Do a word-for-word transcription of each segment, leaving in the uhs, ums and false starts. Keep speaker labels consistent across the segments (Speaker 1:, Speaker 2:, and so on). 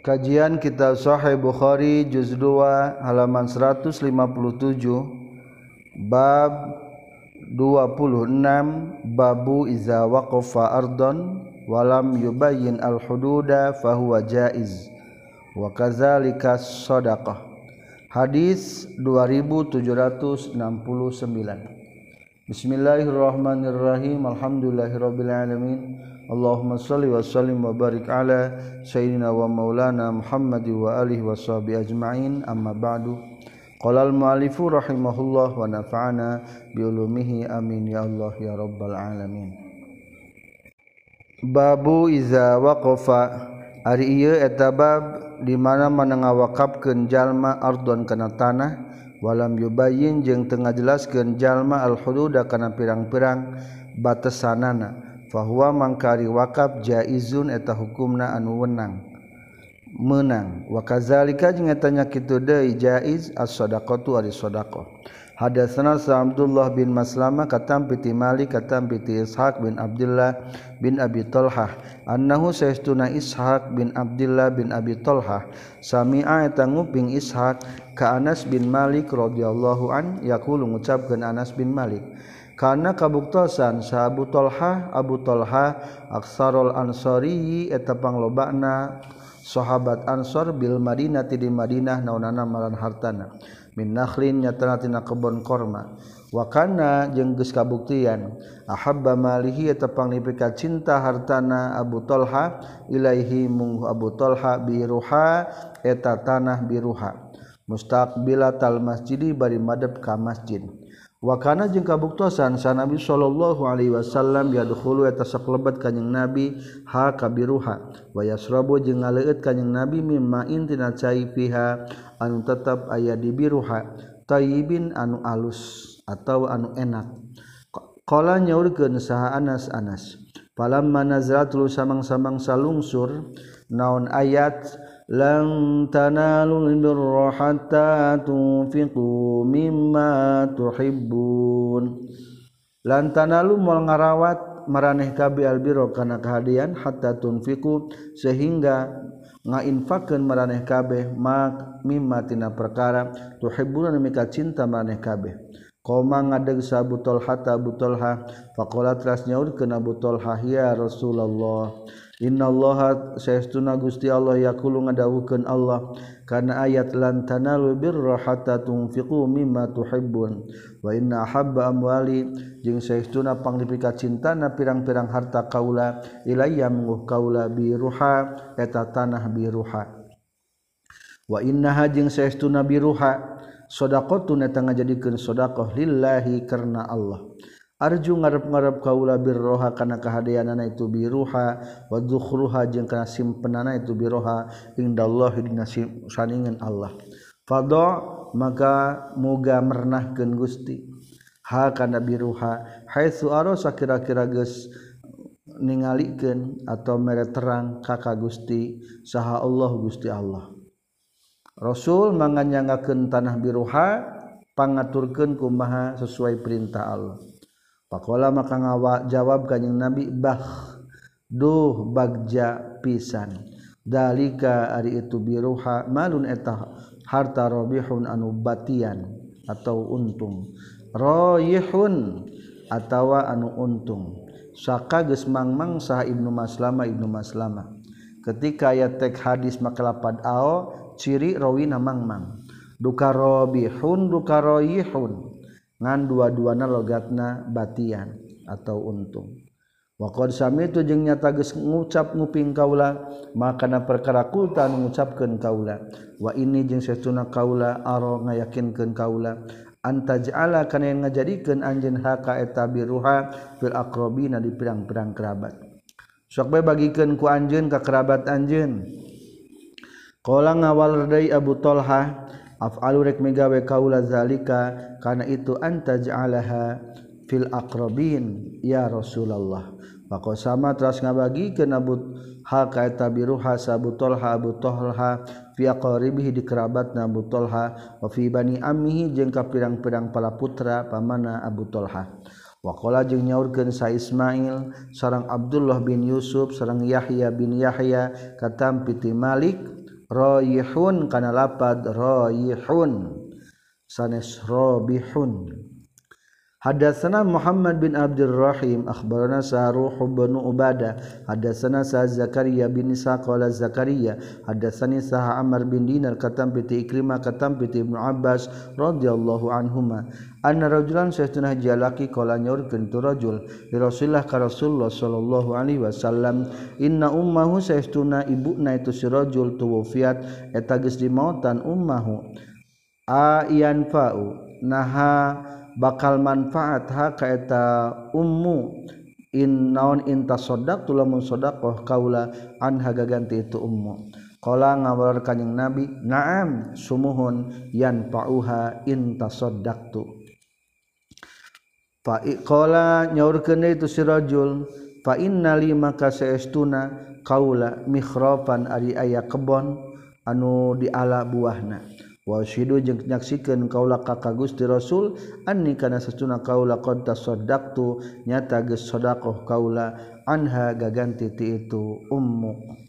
Speaker 1: Kajian Kitab Sahih Bukhari juz dua halaman seratus lima puluh tujuh bab dua puluh enam babu iza waqafa ardon walam yubayyin al-hududa fahuwa jaiz wa kadzalika shadaqah. Hadis dua ribu tujuh ratus enam puluh sembilan. Bismillahirrahmanirrahim. Alhamdulillahirabbil alamin. Allahumma shalli wa sallim wa barik ala sayyidina wa maulana Muhammad wa alihi wa sahbihi ajma'in. Amma ba'du. Qala al-mu'allifu rahimahullah wa nafa'ana bi ulumihi amin ya Allah ya rabbal alamin. Babu iza waqafa, ari ieu eta bab di mana mana ngawakafkeun jalma ardon kana tanah walam yubayyin jeung teu ngajelaskeun jalma al-hududa kana pirang-pirang batasanana. Fahuwa mangkari wakaf jaizun eta hukumna anu wenang menang wa kadzalika jeung eta nya kitu deui jaiz as-shadaqatu ari shadaqah. Hadatsana Abdullah bin Maslamah katam piti Malik katam piti Ishaq bin Abdullah bin Abi Talhah annahu saestuna Ishaq bin Abdullah bin Abi Talhah sami'a eta nguping Ishaq ka Anas bin Malik radhiyallahu an yaqulu ngucapkeun Anas bin Malik karena kabuktosan sa Abu Talha Abu Talha aksarul ansari eta panglobana sahabat Ansor bil Madinah di Madinah naonana maran hartana min nakhlin nyatana tina kebon korma wa kana jeung geus kabuktian ahabba malihi eta panglipika cinta hartana Abu Talha ilaihi mung Abu Talha biruha eta tanah biruha mustaqbilatal masjidi bari madep ka masjid. Wa kana jeung kabuktosan sa Nabi sallallahu alaihi wasallam yadkhulu eta saklebat kanjing Nabi ha kabiruha wa yasrabu jeung ngaleut kanjing Nabi mimma intina cai fiha anu tetep aya di biruha tayyibin anu alus atau anu enak. Qala nyaurkeun saha Anas Anas falamma nazalatul samang-samang salungsur naon ayat lan tanalul birra hatta tunfiqu mimma tuhibbun. Lan tanalu moal ngarawat maraneh kabeh albirra kana kahadian hatta tunfiqu sehingga ngainfakkeun maraneh kabeh mak mimma tina perkara tuhibbuna mika cinta maraneh kabeh. Qoma ngadeg sa Abu Talha Abu Talha faqala teras nyaurkeun Abu Talha ya Rasulullah innallaha saestuna Gusti Allah yaqulu ngadawukeun Allah kana ayat lan tanalu birra hatta tunfiqu mimma tuhibbun wa inna habba amwali jeung saestuna panglipika cintana pirang-pirang harta kaula ilayya munguh kaula biruha eta tanah biruha wa innaha jeung saestuna biruha shadaqatun eta ngajadikeun shadaqah lillahi karna Allah. Arju ngarep-ngarep kaula birroha kana kahadeanana itu biruha wa dzukhruha jeung kana simpenana itu biroha indallahi dina saningan Allah. Fadha maka muga mernahkeun Gusti ha kana biruha haitsu arasa kira-kira geus ningalikeun atau mere terang ka ka Gusti saha Allah Gusti Allah. Rasul manganyangakeun tanah biruha pangaturkeun kumaha sesuai perintah Allah. Pakola maka ngawa jawab kanjing Nabi bah duh bagja pisan dalika ari itu biruha malun eta harta robihun anu batian atau untung royihun atawa anu untung saka geus mangmang saha Ibnu Maslamah Ibnu Maslamah ketika aya tek hadis maka lapad ao ciri rawina mangmang duka robihun duka royihun ngan dua-duana logatna batian atau untung. Wa qad samitu jeung nyata geus ngucap nguping kaula makana perkara kulta anu ngucapkeun kaula wa ini jeung saestuna kaula aro ngayakinkeun kaula antaj'ala kana ngajadikeun anjeun haka eta biruha fil aqrabina di pirang-pirang kerabat. Sok bae bagikeun ku anjeun ka kerabat anjeun. Qala ngawal deui Abu Talha af'alu rek megawe kaula zalika kana itu anta ja'alaha fil aqrabin ya Rasulullah. Maka sama teras ngabagikeun Abu ha ka eta biruha sa Abu Talha Abu Talha fi aqribihi di kerabatna Abu Talha wa fi bani ammihi jeung ka pirang-pirang palaputra pamana Abu Talha. Wa qala jeung nyaurkeun sa Ismail sareng Abdullah bin Yusuf sareng Yahya bin Yahya katam piti Malik Rayihun kana lapad rayihun sanes rabihun. Hadatsana Muhammad bin Abdul Rahim akhbarana Saruh bin Ubadah hadatsana Sa Zakaria bin Isa qala Zakaria hadatsani Sa Amr bin Dinar katam piti Ikrimah katam piti Ibnu Abbas radhiyallahu anhuma anna rajulan sayyiduna jalaki qala nyaurkeun tu rajul li Rasulillah ka Rasulullah sallallahu alaihi wasallam inna ummahu sayyiduna ibuna itu si rajul tuwfiat eta geus dimautan ummahu ayan fa'u naha bakal manfaat ha ka eta ummu in naon intasaddaq tulamun sedekah kaula anha gaganti itu ummu qala ngawar kanjing nabi na'am sumuhun yanfa'uha intasaddaqtu fa qala nyaurkeun itu si rajul fa innali maka saestuna kaula mikhrafan ari aya kebon anu di ala buahna wa syidu jeung nyaksikeun kaula ka Gusti Rasul anni kana satuna kaula qad tasaddaqtu nyata geus sedekah kaula anha gaganti ti itu ummu.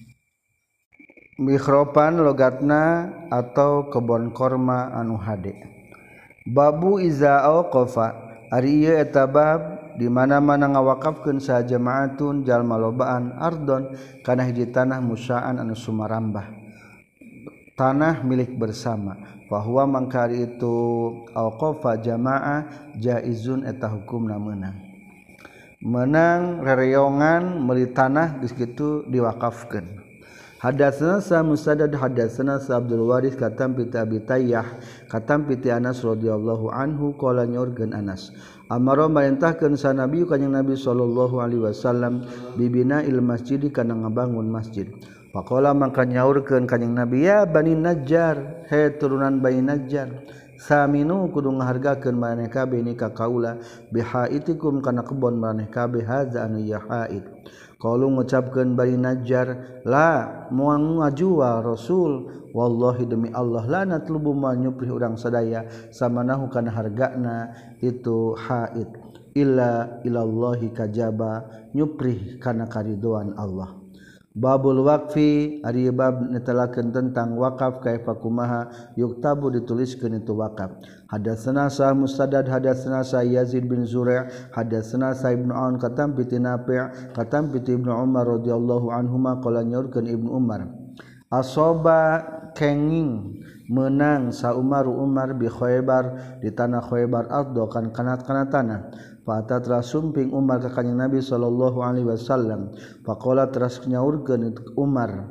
Speaker 1: Mikhropan logatna atau kebon korma anu hade. Babu iza auqafa ari ieu eta bab di mana-mana ngawakafkeun sa jamaatun jalma lobaan ardon kana hiji tanah musaan anu sumarambah tanah milik bersama bahwa mangkari itu auqafa jamaah jaizun eta hukumna meunang menang rereongan meuli tanah geus kitu diwakafkeun. Hadatsana sa Musaddad hadatsana sa Abdul Waris katam piti Abi Tayyah katam piti Anas radhiyallahu anhu qala nyorkeun Anas amara marintahkeun sa Nabi kanjing Nabi sallallahu alaihi wasallam bibina il masjid kana ngabangun masjid. Faqala maka nyaurkeun kanjing Nabi ya Bani Najjar he turunan Bani Najjar saminu kudu ngahargakeun maneh kabeh ni ka kaula bihaitikum kana kebon maneh kabeh haza anu ya haid. Qalu ngucapkeun Bani Najjar la moal ngajual Rasul wallahi demi Allah la natlubu ma nyuprih urang sadaya samanahu kana hargana itu haid illa ilallahi kajaba nyuprih kana karidoan Allah. Babul waqfi ari bab netelakeun tentang wakaf kaifa kumaha yuktabu dituliskeun itu wakaf. Hadatsana sa Musaddad hadatsana sa Yazid bin Zur'a hadatsana sa Ibnu Aun katam piti Nafi' katam piti Ibnu Umar radhiyallahu anhuma qala nyaurkeun Ibnu Umar asoba kenging menang sa Umar Umar bi Khaybar di tanah Khaybar addo kan kanat-kana tanah. Fata teras sumping Umar ka kanjing Nabi sallallahu alaihi wasallam faqala teras nyaurkeun Umar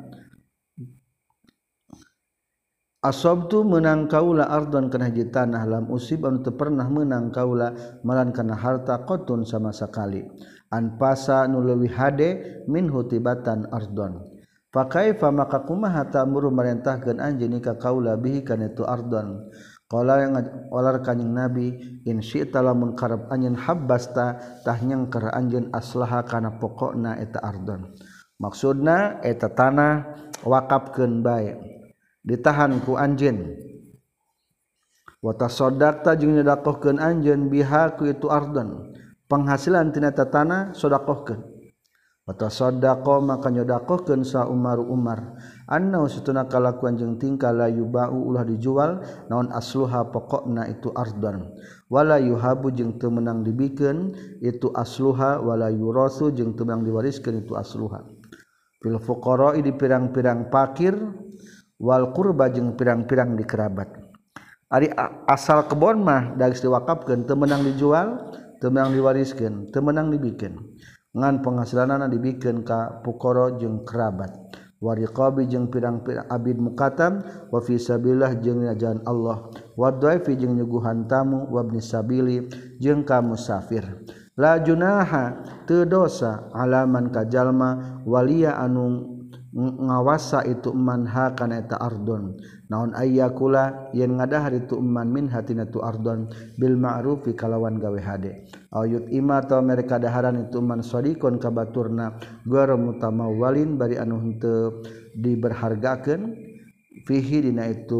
Speaker 1: asabtu menang kaula ardon kana hiji tanah lam usib anu teu pernah menang kaula malan kana harta qotun sama sakali anpasa nu leuwih hade minhu tibatan ardon fa kaifa maka kumaha ta'muru marentahkeun anjeun ka kaula bihi kana tu ardon. Qala yang olar kanjing Nabi in syi'ta lamun karep anjeun habbasta tah nyengker anjeun aslaha kana pokokna eta ardon. Maksudna eta tanah wakafkeun bae ditahan ku anjeun. Wa tasaddaqta jeung nyedakohkeun anjeun biha ku itu ardon. Penghasilan tina eta tanah sedekahkeun. Wa tasaddaqa maka nyedakohkeun sa Umar Umar anna usutuna kalakuan jeung tingkah la yubau ulah dijual naon asluha pokokna itu ardon wala yuhabu jeung teu meunang dibikeun itu asluha wala yurasu jeung teu meunang diwariskeun itu asluha fil fuqara di pirang-pirang fakir wal qurba jeung pirang-pirang di kerabat ari asal kebon mah dageus diwakafkeun teu meunang dijual teu meunang diwariskeun teu meunang dibikeun ngan penghasilanana dibikeun ka fuqara jeung kerabat wariqabi jeung pirang-pirang abid mukatam wa fi sabilillah jeung jalan Allah wa dhaifi jeung nyuguhan tamu wa ibnis sabili jeung ka musafir la junaha teu dosa alaman ka jalma waliya anu ngawasa itu man ha kana eta ardon naon ayyakula yen ngadahar itu man min hatina tu ardon bil ma'rufi kalawan gawe hade ayut ima ta mereka daharan itu man sadiqon ka baturna gara mutamawwalin bari anu henteu diberhargakeun fihi dina itu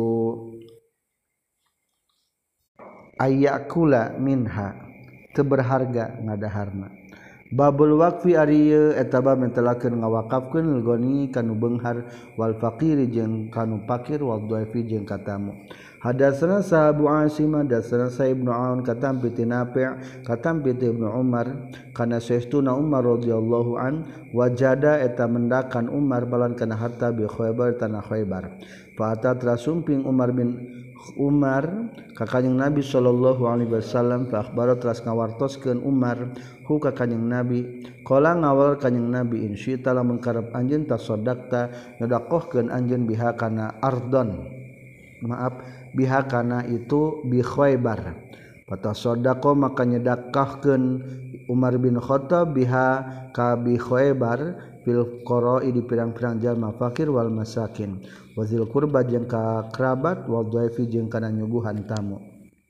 Speaker 1: ayyakula minha teu berharga ngadaharna Babul waqfi ari eta bab mentelakeun ngawakafkeun goni kanu beunghar wal faqiri jeung kanu fakir wal dhaifi jeung katamu. Hadatsana sa Abu Asim hadatsana sa Ibnu Aun katam bi Nafi' katam bi Ibnu Umar kana saestuna Umar radhiyallahu an wajada eta mendakan Umar balan kana harta bi Khaybar tanah Khaybar. Fa atat rasumping Umar bin Umar ka kanjing Nabi sallallahu alaihi wasallam fa akhbara teras ngawartoskeun Umar hu ka kanjing Nabi qala ngawal kanjing Nabi insya Allah mengkarep anjeun tasaddaqta nyodakohkeun anjeun biha kana ardon maaf biha kana itu bi Khaybar patasaddaqo maka nyedakahkeun Umar bin Khattab biha ka bi Khaybar fil qara'i di pirang-pirang jalma fakir wal masakin wazil qurba jeung ka kerabat wal dhaifi jeung kana nyuguhan tamu.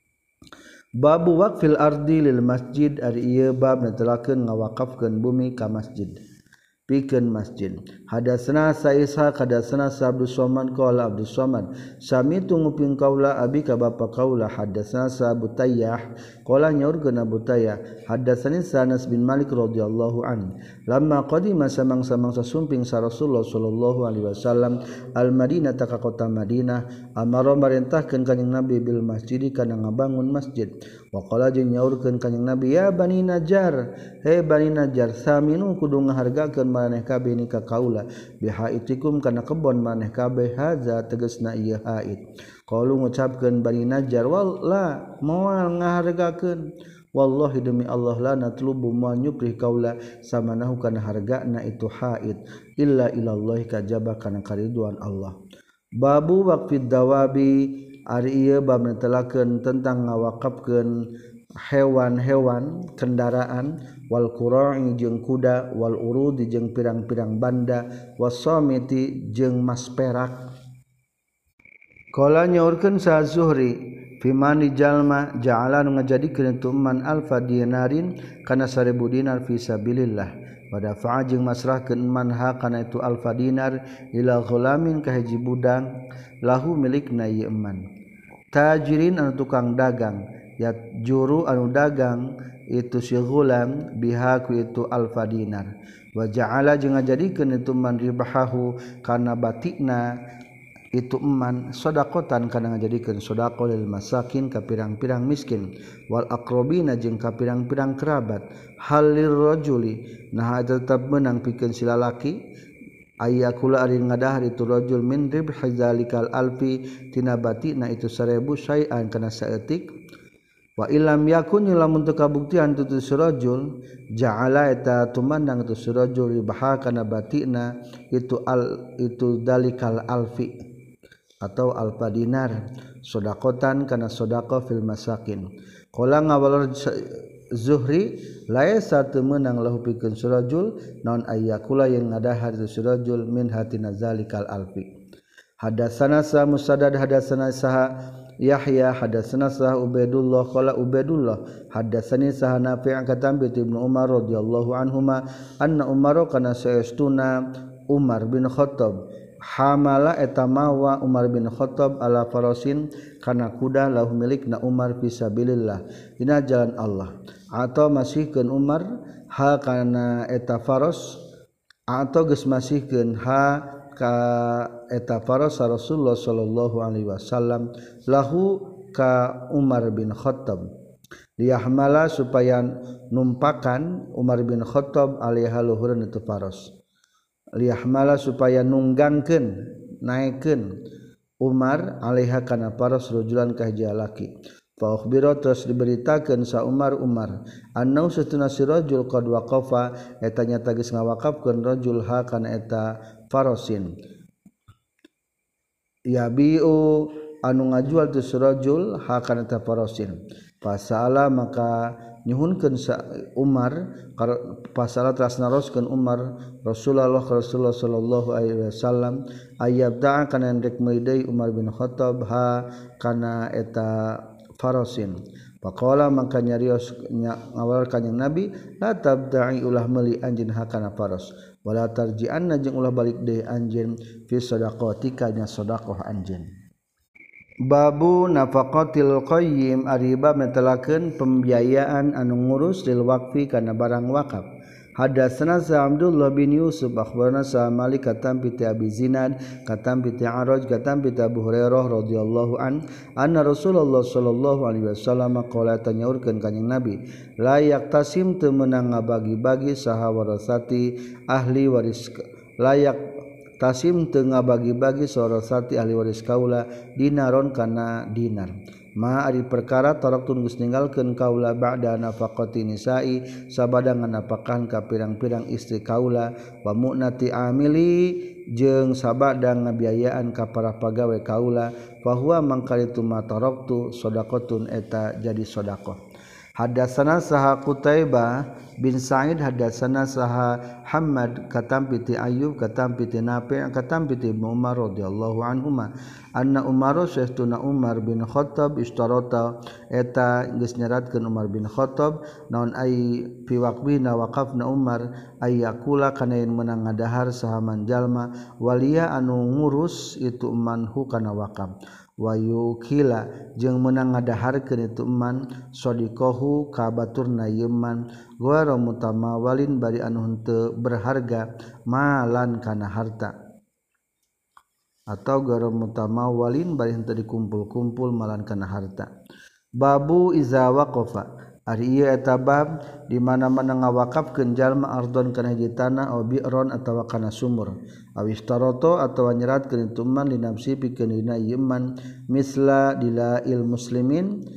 Speaker 1: Babu waqfil ardi lil masjid ari ieu bab netelakeun ngawakafkeun bumi ka masjid pikeun masjid. Hadatsana sa Ishaq hadatsana sa Abdus Somad qala Abdus Somad sami tu nguping kaula abi ka bapa kaula hadatsana sa Abu Tayyah qala nyaurkeun Abu Tayyah hadatsani Anas bin Malik radhiyallahu an lamma qadima samang-samang sasumping sa Rasulullah sallallahu alaihi wasallam al Madinah ta ka kota Madinah amara marentahkeun kanjing Nabi bil masjid kana ngabangun masjid wa qala jeung nyaurkeun kanjing Nabi ya Bani Najjar he Bani Najjar saminu kudu ngahargakeun maneh kabeh ni ka kaula bihaitikum kana kebon maneh kabeh haza tegasna ieu haid qalu ngucapkeun Bani Najjar walla moal ngahargakeun wallahi demi Allah la natlubu ma nyukrih kaula samanahu kana hargana itu haid illa ilallah kajaba kana kariduan Allah. Babu waqfid dawabi ari ieu bab netelakeun tentang ngawakafkeun hewan-hewan kendaraan wal qura'i jeung kuda wal urudi jeung pirang-pirang banda wasamiti jeung mas perak. Qala nyaurkeun sa Zuhri fimani jalma ja'ala nu ngajadikeun itu man alfa dinarin kana seribu dinar fi sabilillah pada fa'a jeung masrahkeun man ha kana itu alfa dinar ila ghulamin ka hiji budang lahu milikna ieu man tajirin anu tukang dagang ya juru anu dagang itu si ghulam biha ku itu alfa dinar wa ja'ala jeung ngajadikeun itu man ribahahu kana batikna itu eman sedaqatan kana ngajadikeun sedekah lil masakin ka pirang-pirang miskin wal aqrabina jeung ka pirang-pirang kerabat halir rajuli nah tetep meunang pikeun si lalaki ayyakula ari ngadahar itu rajul min ribhi zalikal alfi tina batina itu seribu syai'an kana saeutik wa illam yakun lamun teu kabuktian tu rajul ja'ala eta tumandang tu rajul ribaha kana batina itu al itu dalikal alfi atau alfa dinar sodakotan kana sodako fil masakin. Qala ngawal Zuhri laisa teu meunang lahu pikeun surajul naon ayyakula yang ngadahar itu surajul min hatina zalikal alfi. Hadatsana sa Musaddad hadatsana saha Yahya hadatsana saha Ubaidullah qala Ubaidullah hadatsani saha Nafi' katam bi Ibnu Umar radhiyallahu anhuma anna Umar kana saestuna Umar bin Khattab hamala eta mawa Umar bin Khattab ala farasin kana kuda lahu milikna Umar fisabilillah dina jalan Allah atau masihkeun Umar ha kana eta faros atau geus masihkeun ha ka eta faros Rasulullah sallallahu alaihi wasallam lahu ka Umar bin Khattab liyahmala supaya numpakan Umar bin Khattab alaiha luhureun itu faros liyahmala supaya nunggangkeun naikkeun Umar alaiha kana paras rajulan ka hiji lalaki fa ukhbira terus diberitakeun sa Umar Umar annau satuna si rajul qad waqafa eta nyata geus ngawakafkeun rajul ha kana eta farasin yabiu anu ngajual tu rajul ha kana eta farasin fasala maka nyuhunkeun sa Umar pasala teras naroskeun Umar Rasulullah Rasulullah sallallahu alaihi wasallam ayyabda kana endek meuli Umar bin Khattab ha kana eta farasin faqala maka nyarios ngawal kanjing Nabi la tabda'i ulah meuli anjeun ha kana faras wala tarji'anna jeung ulah balik deui anjeun fi sadaqatika nya sedekah anjeun. Babu nafaqatil qayyim ariba metelakeun pembiayaan anu ngurus lil waqfi kana barang wakaf Hadatsana Abdullah bin Yusuf akhbarana sa Malik katam bi Abi Zinad katam bi Araj katam bi Abu Hurairah radhiyallahu an anna Rasulullah sallallahu alaihi wasallam qala tanyaurkeun kanjing Nabi la yaktasim teu meunang ngabagi-bagi saha warasati ahli waris layak tasim teu ngabagi-bagi warasati ahli waris kaula dinaron kana dinar ma ari perkara taraktun geus ninggalkeun kaula ba'da nafaqati nisa'i sabada nganapakan ka pirang-pirang istri kaula wa mu'nati amili jeung sabada ngabiayaan ka para pagawe kaula fa huwa mangkalitu ma taraktu shadaqatun eta jadi sedekah. Hadatsana saha Qutaibah bin Sa'id hadatsana saha Hammad katam piti Ayyub katam piti Nafi' katam piti Ibnu Umar radhiyallahu anhuma anna Umar sayyiduna Umar bin Khattab istarata eta geus nyeratkeun Umar bin Khattab naon ai fi waqbina waqafna Umar ay yakula kana yen meunang ngadahar saha manjalma walia anu ngurus itu manhu kana waqaf wayu kila jeung meunang ngadaharkeun itu man sadiqahu ka baturna yeman gora mutamawalin bari anu henteu berharga malan kana harta atau gora mutamawalin bari henteu dikumpul-kumpul malan kana harta. Babu iza waqafa ari ieu eta bab di mana-mana ngawakafkeun jalma ardon kana hiji tanah aw bi'ron atawa kana sumur aw istaroto atawa nyeratkeun itu man li nafsi pikeun dina ieu man misla dilail muslimin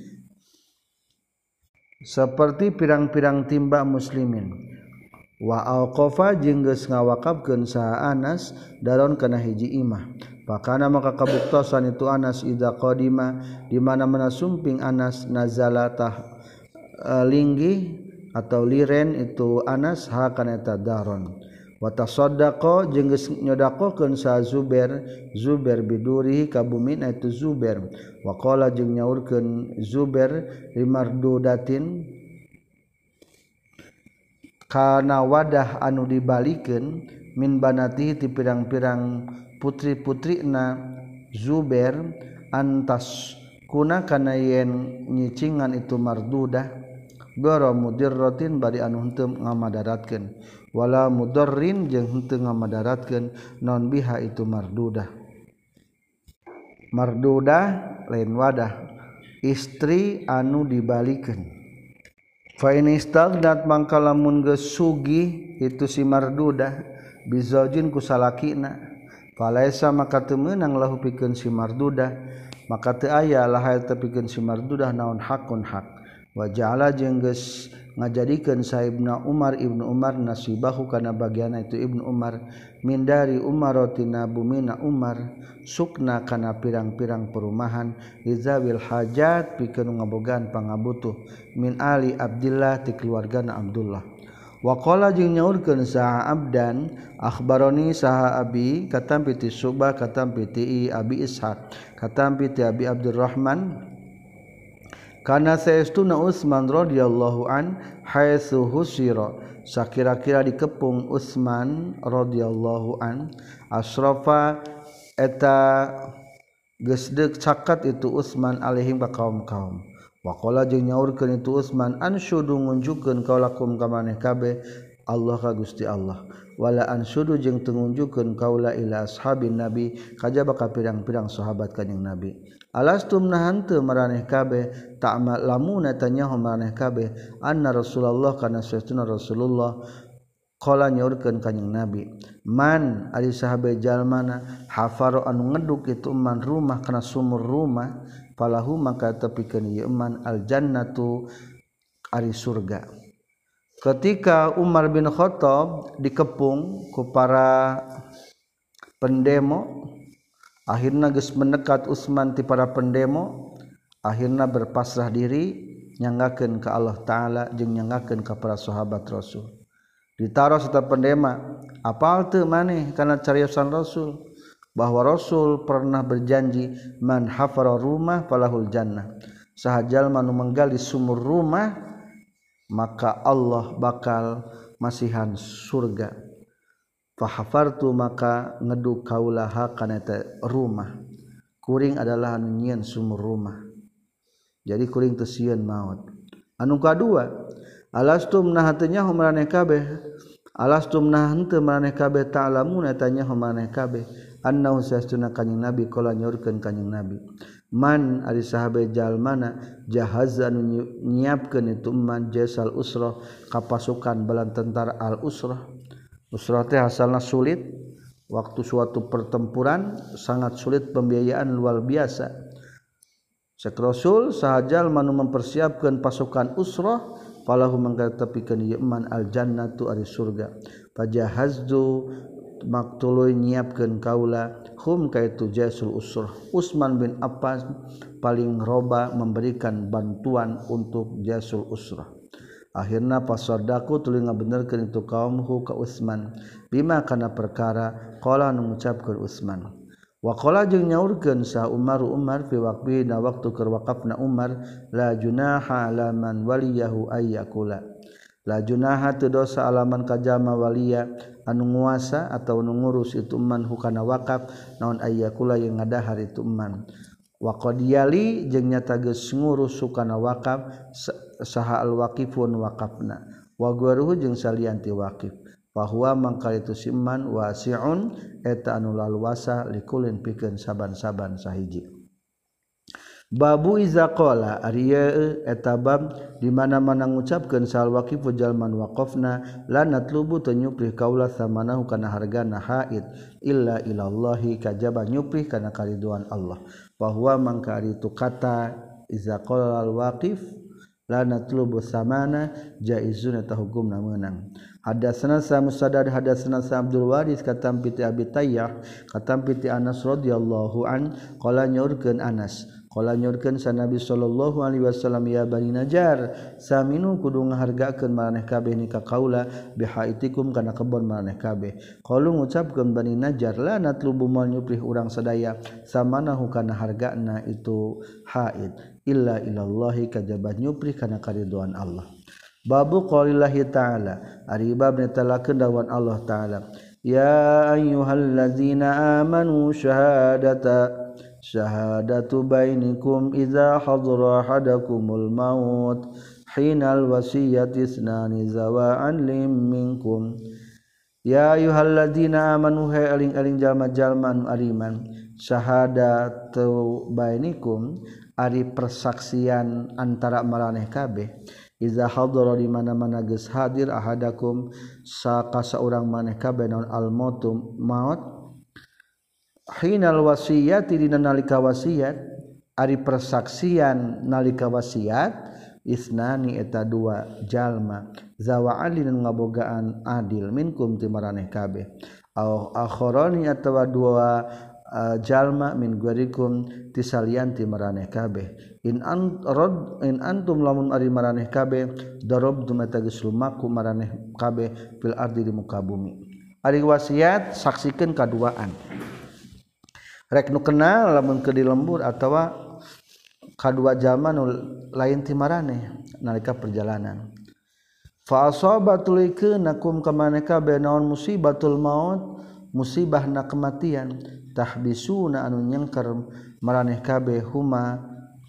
Speaker 1: seperti pirang-pirang timba muslimin wa auqafa jeung geus ngawakafkeun saha Anas daron kana hiji imah pakana maka kabuktosan itu Anas idza qadima di mana-mana sumping Anas nazala tah linggi atau liren itu Anas ha kana eta daron wa tasaddaqa jeung geus nyodaqokeun sa Zubair Zubair bidurihi ka bumin itu Zubair wa qala jeung nyaurkeun Zubair limardudatin kana wadah anu dibalikeun min banati ti pirang-pirang putri-putrina Zubair antas kuna kana yen nyicingan itu mardudah gara mudirratin bari anu henteu ngamadaratkeun wala mudarrin jeung henteu ngamadaratkeun non biha itu mardudah. Mardudah lain wadah istri anu dibalikeun fa in istaghnat mangka lamun geus sugih itu si mardudah bizaujin ku salakina falaisa maka teu meunang lahu pikeun si mardudah maka teu aya laha teu pikeun si mardudah naon hakun hak wa ja'ala jeung geus ngajadikeun saibna Umar ibnu Umar nasibahu kana bagiana itu ibnu Umar min dari Umaratina bumina Umar sukna kana pirang-pirang perumahan izawil hajat pikeun ngabogaan pangabutuh min ali Abdillah ti keluargana Abdullah wa qala jeung nyaurkeun saha Abdan akhbaroni saha abi katam piti Subah katam piti Abi Ishaq katam piti Abi Abdurrahman kana saestuna Utsman radhiyallahu an haitsu husira sakira-kira dikepung Utsman radhiyallahu an asrafa eta geus deuk caket itu Utsman alaihim ka kaum-kaum wa qala jeung nyaurkeun itu Utsman ansyudu ngunjukkeun kaulakum ka maneh kabeh Allah ka Gusti Allah wala ansyudu jeung teu ngunjukkeun kaula ila ashabin nabi kajaba ka pirang-pirang sahabat kanjing nabi alastum nahan teu maraneh kabeh ta'mal lamun tanya maraneh kabeh anna Rasulullah kana saestuna Rasulullah qala nyaurkeun kanjing nabi man ari sahabe jalmana hafar anu ngeduk itu man rumah kana sumur rumah falahu maka tepikeun ieu man al jannatu ari surga. Ketika Umar bin Khattab dikepung ku para pendemo akhirna geus mendekat Utsman ti para pendemo akhirna berpasrah diri nyanggakeun ka Allah taala jeung nyanggakeun ka para sahabat Rasul ditaros eta pendema apal teu maneh kana cariosan Rasul bahwa Rasul pernah berjanji man hafara rumah falahul jannah saha jalma nu manggali sumur rumah maka Allah bakal masihan surga fa hafartu maka ngeduk kaulaha kana eta rumah kuring adalah anu nyieun sumur rumah jadi kuring teu sieun maot anu kadua alastum nah teu nyaho maraneh kabeh alastum nah henteu maneh kabeh ta'lamun tanya maneh kabeh annahu sastuna kanjing nabi qala nyaurkeun kanjing nabi man ari sahabe jalmana jahazan nyiapkeun itu man jasal usrah ka pasukan balan tentara al usrah. Usrah teh asalna sulit, waktu suatu pertempuran sangat sulit pembiayaan luar biasa. Sek Rasul sahajal manu mempersiapkan pasukan usrah falahu manggatepikeun ieu man al jannatu ari surga. Fajahazdu maktuluy nyiapkeun kaula hum kaitu jasul usrah. Utsman bin Affan paling roba memberikan bantuan untuk jasul usrah. Akhirna pasadaku tuluy ngabenerkeun itu kaumhu ka Utsman bima kana perkara qala nu ngucapkeun Utsman wa qala jeung nyaurkeun sa Umar Umar fi waqti na waktu keur waqafna Umar la junaha ala man waliyahu ayyakula la junaha teu dosa alaman kajama waliya anu nguasa atau nu ngurus itu man hukana wakaf naon ayyakula yang ngadahar itu man wa qadiyali jeung nyata geus ngurus hukana wakaf saha al-waqifun waqafna wa guruhu jeung salianti waqif fa huwa mangkal itu simman wasi'un eta anu laluasa likulin pikeun saban-saban sahiji. Babu iza qala ari eta bab di mana-mana ngucapkeun sal waqifu jalman waqafna la natlubu teu nyuprih kaula samanahu kana hargana haid illa ilallahi kajaba nyuprih kana kariduan Allah fa huwa mangka ari tu kata iza qala al waqif la natlubu samana jaizun eta hukumna meunang. Hadatsana sa Musaddad hadatsana sa Abdul Waris katam piti Abi Tayyah katam piti Anas radhiyallahu an qala nyaurkeun Anas qala nyaurkeun sa Nabi sallallahu alaihi wasallam ya Bani Najjar saminu kudu ngahargakeun maneh kabeh ni ka kaula bihaitikum kana kebon maneh kabeh qalu ngucapkeun Bani Najjar la natlubu mal nyuprih urang sadaya samanahu kana hargana itu haid illa ilallahi kajabah nyuprih kana kariduan Allah. Babu qaulillahi ta'ala ari bab netalakeun dawan Allah ta'ala ya ayyuhallazina amanu syahadata syahadatu bainikum idza hadara ahadakumul maut hinal wasiyati isnani zawa anlim minkum ya ayyuhallazina amanu hay aling-aling jalma-jalma anu ariman syahadatu bainikum ari persaksian antara maraneh kabeh iza hadara di mana-mana geus hadir ahadakum saka saurang maneh kabeh naon al mautum maut hinal wasiyati dina nalika wasiat ari persaksian nalika wasiat isnani eta dua jalma zawa alin ngabogaan adil minkum ti maraneh kabeh au akharani atawa dua uh, jalma min guerikum tisalianti maraneh kabeh in an rod in antum lamun ari maraneh kabeh darabtum eta geus lumaku maraneh kabeh fil ardi di muka bumi ari wasiat saksikeun kaduaan rek nu kenal lamun ke di lembur atawa kadua jalma nu lain ti maraneh nalika perjalanan fa asabatul ikunakum kamaneh kabeh naon musibatul maut musibahna kematian tahbisuna anu nyengker maraneh kabeh huma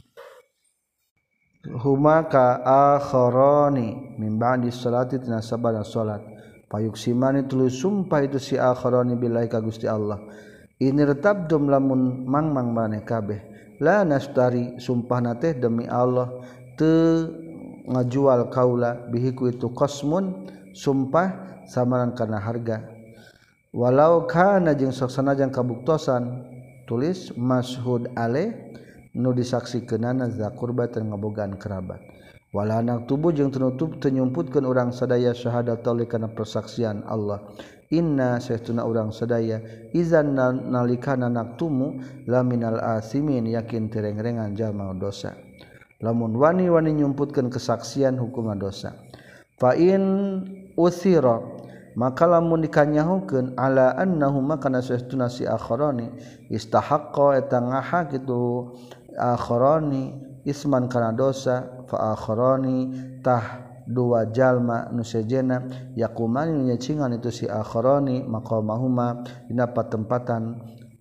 Speaker 1: huma ka akharani min ba'di salati tina sabana salat payuksimani tuluy sumpah itu si akharani billahi ka Gusti Allah ini retabdum lamun mangmang maneh kabeh la nastari sumpahna teh demi Allah teu ngajual kaula bihiku itu qasmun sumpah samaran kana harga walau kana jeung sok sanajan kabuktosan tulis mashhud alaih nu disaksikeunana za qurbatan ngabogaan kerabat wala anak tubuh jeung tunutup teu nyumputkeun urang sadaya syahadat oleh kana persaksian Allah inna saestuna urang sadaya izan nalikana naktumu laminal asimin yakin tereng-rengan jalma dosa lamun wani-wani nyumputkeun kesaksian hukumna dosa fa in usira maka lamun dikanyahukeun ala annahuma kana saestuna si akharani istahaqqa eta ngaha kitu akharani isman kana dosa fa akharani tah dua jalma nu sejena yaqumani nyacingan itu si akharani maqamahuma dina patempatan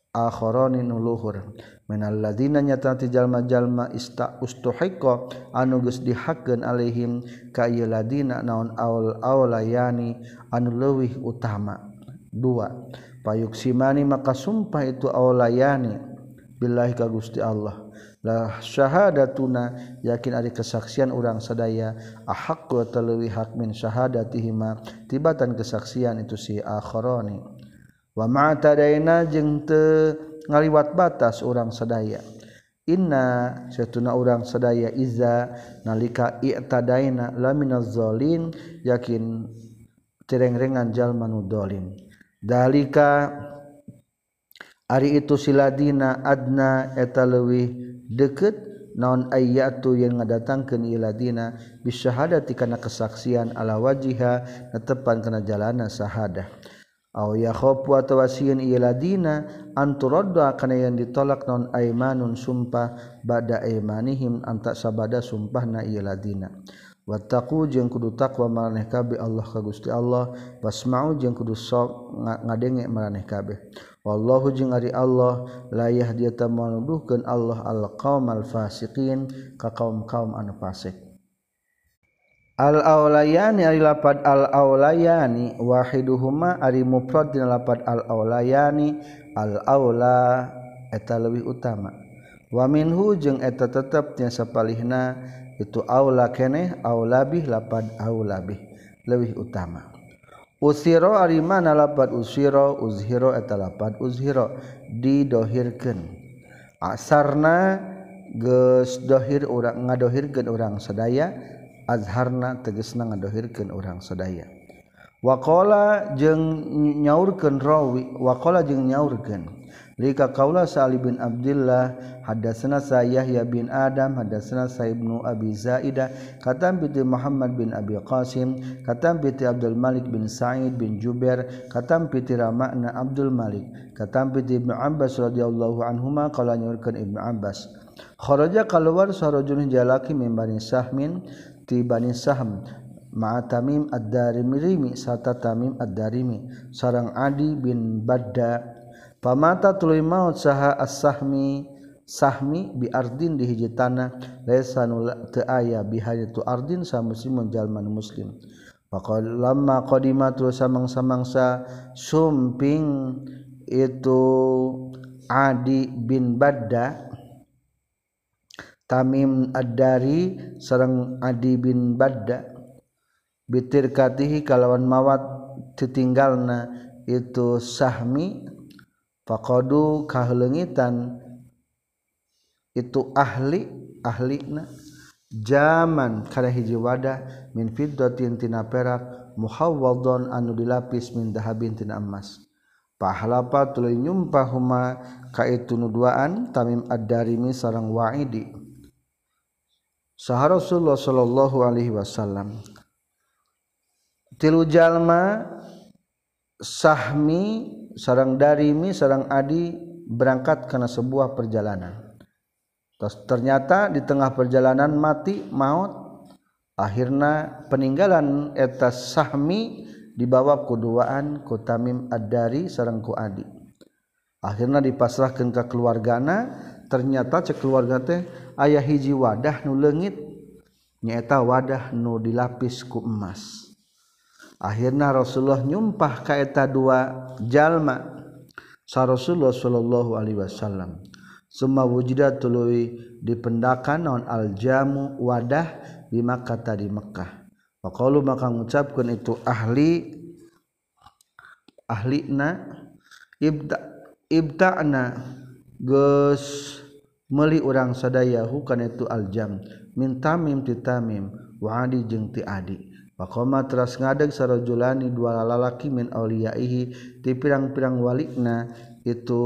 Speaker 1: akharani nuluhur minal ladina nyata ti jalma-jalma ista ustuhiqa anu geus dihakeun alaihim ka ieu ladina naon aul aulayani anu leuwih utama. Dua, payuksimani maka sumpah itu aulayani billahi ka Gusti Allah la syahadatuna yakin ari kesaksian urang sadaya ahaqqu talwi hak min syahadatihima tibatan kesaksian itu si akharani wa ma'tadaina jeung teu ngaliwat batas urang sadaya inna satuna urang sadaya iza nalika i'tadaina laminaz zalin yakin tereng-rengan jalma nu zalim dalika ari itu siladina adna eta leuwih deukeut naon ayyatu yang ngadatangkeun ieu ladina bisyahadati kana kesaksian ala wajiha netepan kana jalana sahadah aw yakhafu atawa sieun ieu ladina anturadda kana yang ditolak naon aimanun sumpah ba'da aimanihim anta sabada sumpahna ieu ladina wattaqu jeung kudu takwa maraneh kabeh Allah ka Gusti Allah wasma'u jeung kudu sok ngadenge maraneh kabeh wallahu jeung ari Allah la yahdi ta manuduhkeun Allah al-qaumal fasiqin ka kaum-kaum anu fasik. Al-aulayani ari lapad al-aulayani wahiduhuma ari mufrad dina lapad al-aulayani al-aula eta leuwih utama wa minhu jeung eta tetep nya sapalihna itu aula keneh aulabih lapad aulabih leuwih utama. Usiro ari mana lapad usiro uzhiro eta lapad uzhiro didohirkeun asarna geus dohir urang ngadohirkeun urang sadaya azharna tegasna ngadohirkeun urang sadaya waqala jeung nyaurkeun rawi waqala jeung nyaurkeun lika qaula Sa'li bin Abdullah hadatsana Yahya bin Adam hadatsana Ibnu Abi Zaidah katam bi Muhammad bin Abi Qasim katam bi Abdul Malik bin Sa'id bin Jubair katam bi Rama'na Abdul Malik katam bi Ibnu Abbas radhiyallahu anhuma qala nyurkeun Ibnu Abbas kharaja kaluar sarajulun jalaki min Bani Sahmin ti Bani Sahm ma'a Tamim ad-Darimi sarta Tamim ad-Darimi sareng Adi bin Badda pamata tuluy maut saha as-sahmi sahmi bi ardin di hiji tanah laisa nu teu aya bihayatu ardin sa muslimun jalma muslim faqal lamma qadimatu samang-samangsa sumping itu Adi bin Badda Tamim ad-Dari sareng Adi bin Badda bitirkatihi kalawan mawat titinggalna itu sahmi faqadu kahleungitan itu ahli ahlina jaman kana hiji wadah min fiddatin tina perak muhawwadon anu dilapis min dahabin tina emas pahlapa tuluy nyumpah huma ka itu nuduaan Tamim ad-Darimi sareng Wa'idi saha Rasulullah sallallahu alaihi wasallam tilu jalma sahmi sareng Darimi sareng Adi berangkat karena sebuah perjalanan. Terus ternyata di tengah perjalanan mati maut. Akhirna peninggalan eta sahmi dibawa kuduaan ku Tamim ad-Dari sareng ku Adi. Akhirna dipasrahkeun ka keluargana, ternyata cek keluarga teh aya hiji wadah nu leungit nyaeta wadah nu dilapis ku emas. Akhirna Rasulullah nyumpah ka eta dua jalma sa Rasulullah sallallahu alaihi wasallam summa wujida tuluy dipendakan naon aljamu wadah di Makkah di Mekah faqalu maka ngucapkeun itu ahli ahlina ibda ibta'na geus meuli urang sadaya hukana itu aljam min Tamim ti Tamim wa Adi jeung ti Adi Pakoma teras ngadeg sarajulani dua lalaki min auliyaihi ti pirang-pirang walikna itu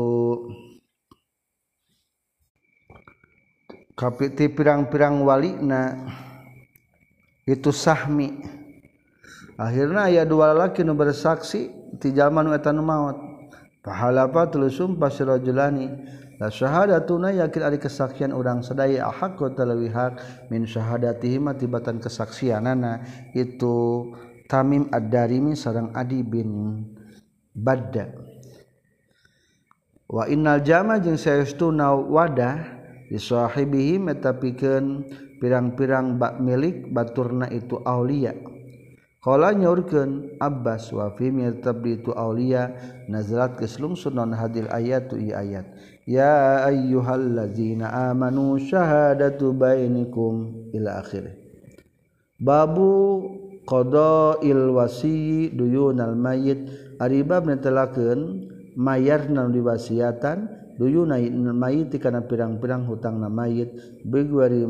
Speaker 1: kapi ti pirang-pirang walikna itu sahmi. Akhirna aya dua lalaki nu bersaksi ti jalma nu eta nu maot. Pahalapa tuluy sumpah sarajulani la syahadatuna yakin ari kesaksian urang sadaya haqqu talwi hak min syahadatihi matibatan kesaksianana itu Tamim ad-Darimi sareng Adi bin Badda wa innal jama jeung saestuna wadah di sahibihim eta pikeun pirang-pirang bak milik baturna itu aulia. Qala nyaurkeun Abbas wa fi mirtab itu aulia nazalat keslungsun non hadil ayatu i ayat ya ayyuhallazina amanu syahadatu bainikum ila akhir. Babu qada'il wasi duyunal mayyit ari bab netelakeun mayarna diwasiatan duyunal mayyit kana pirang-pirang hutangna mayyit bigwari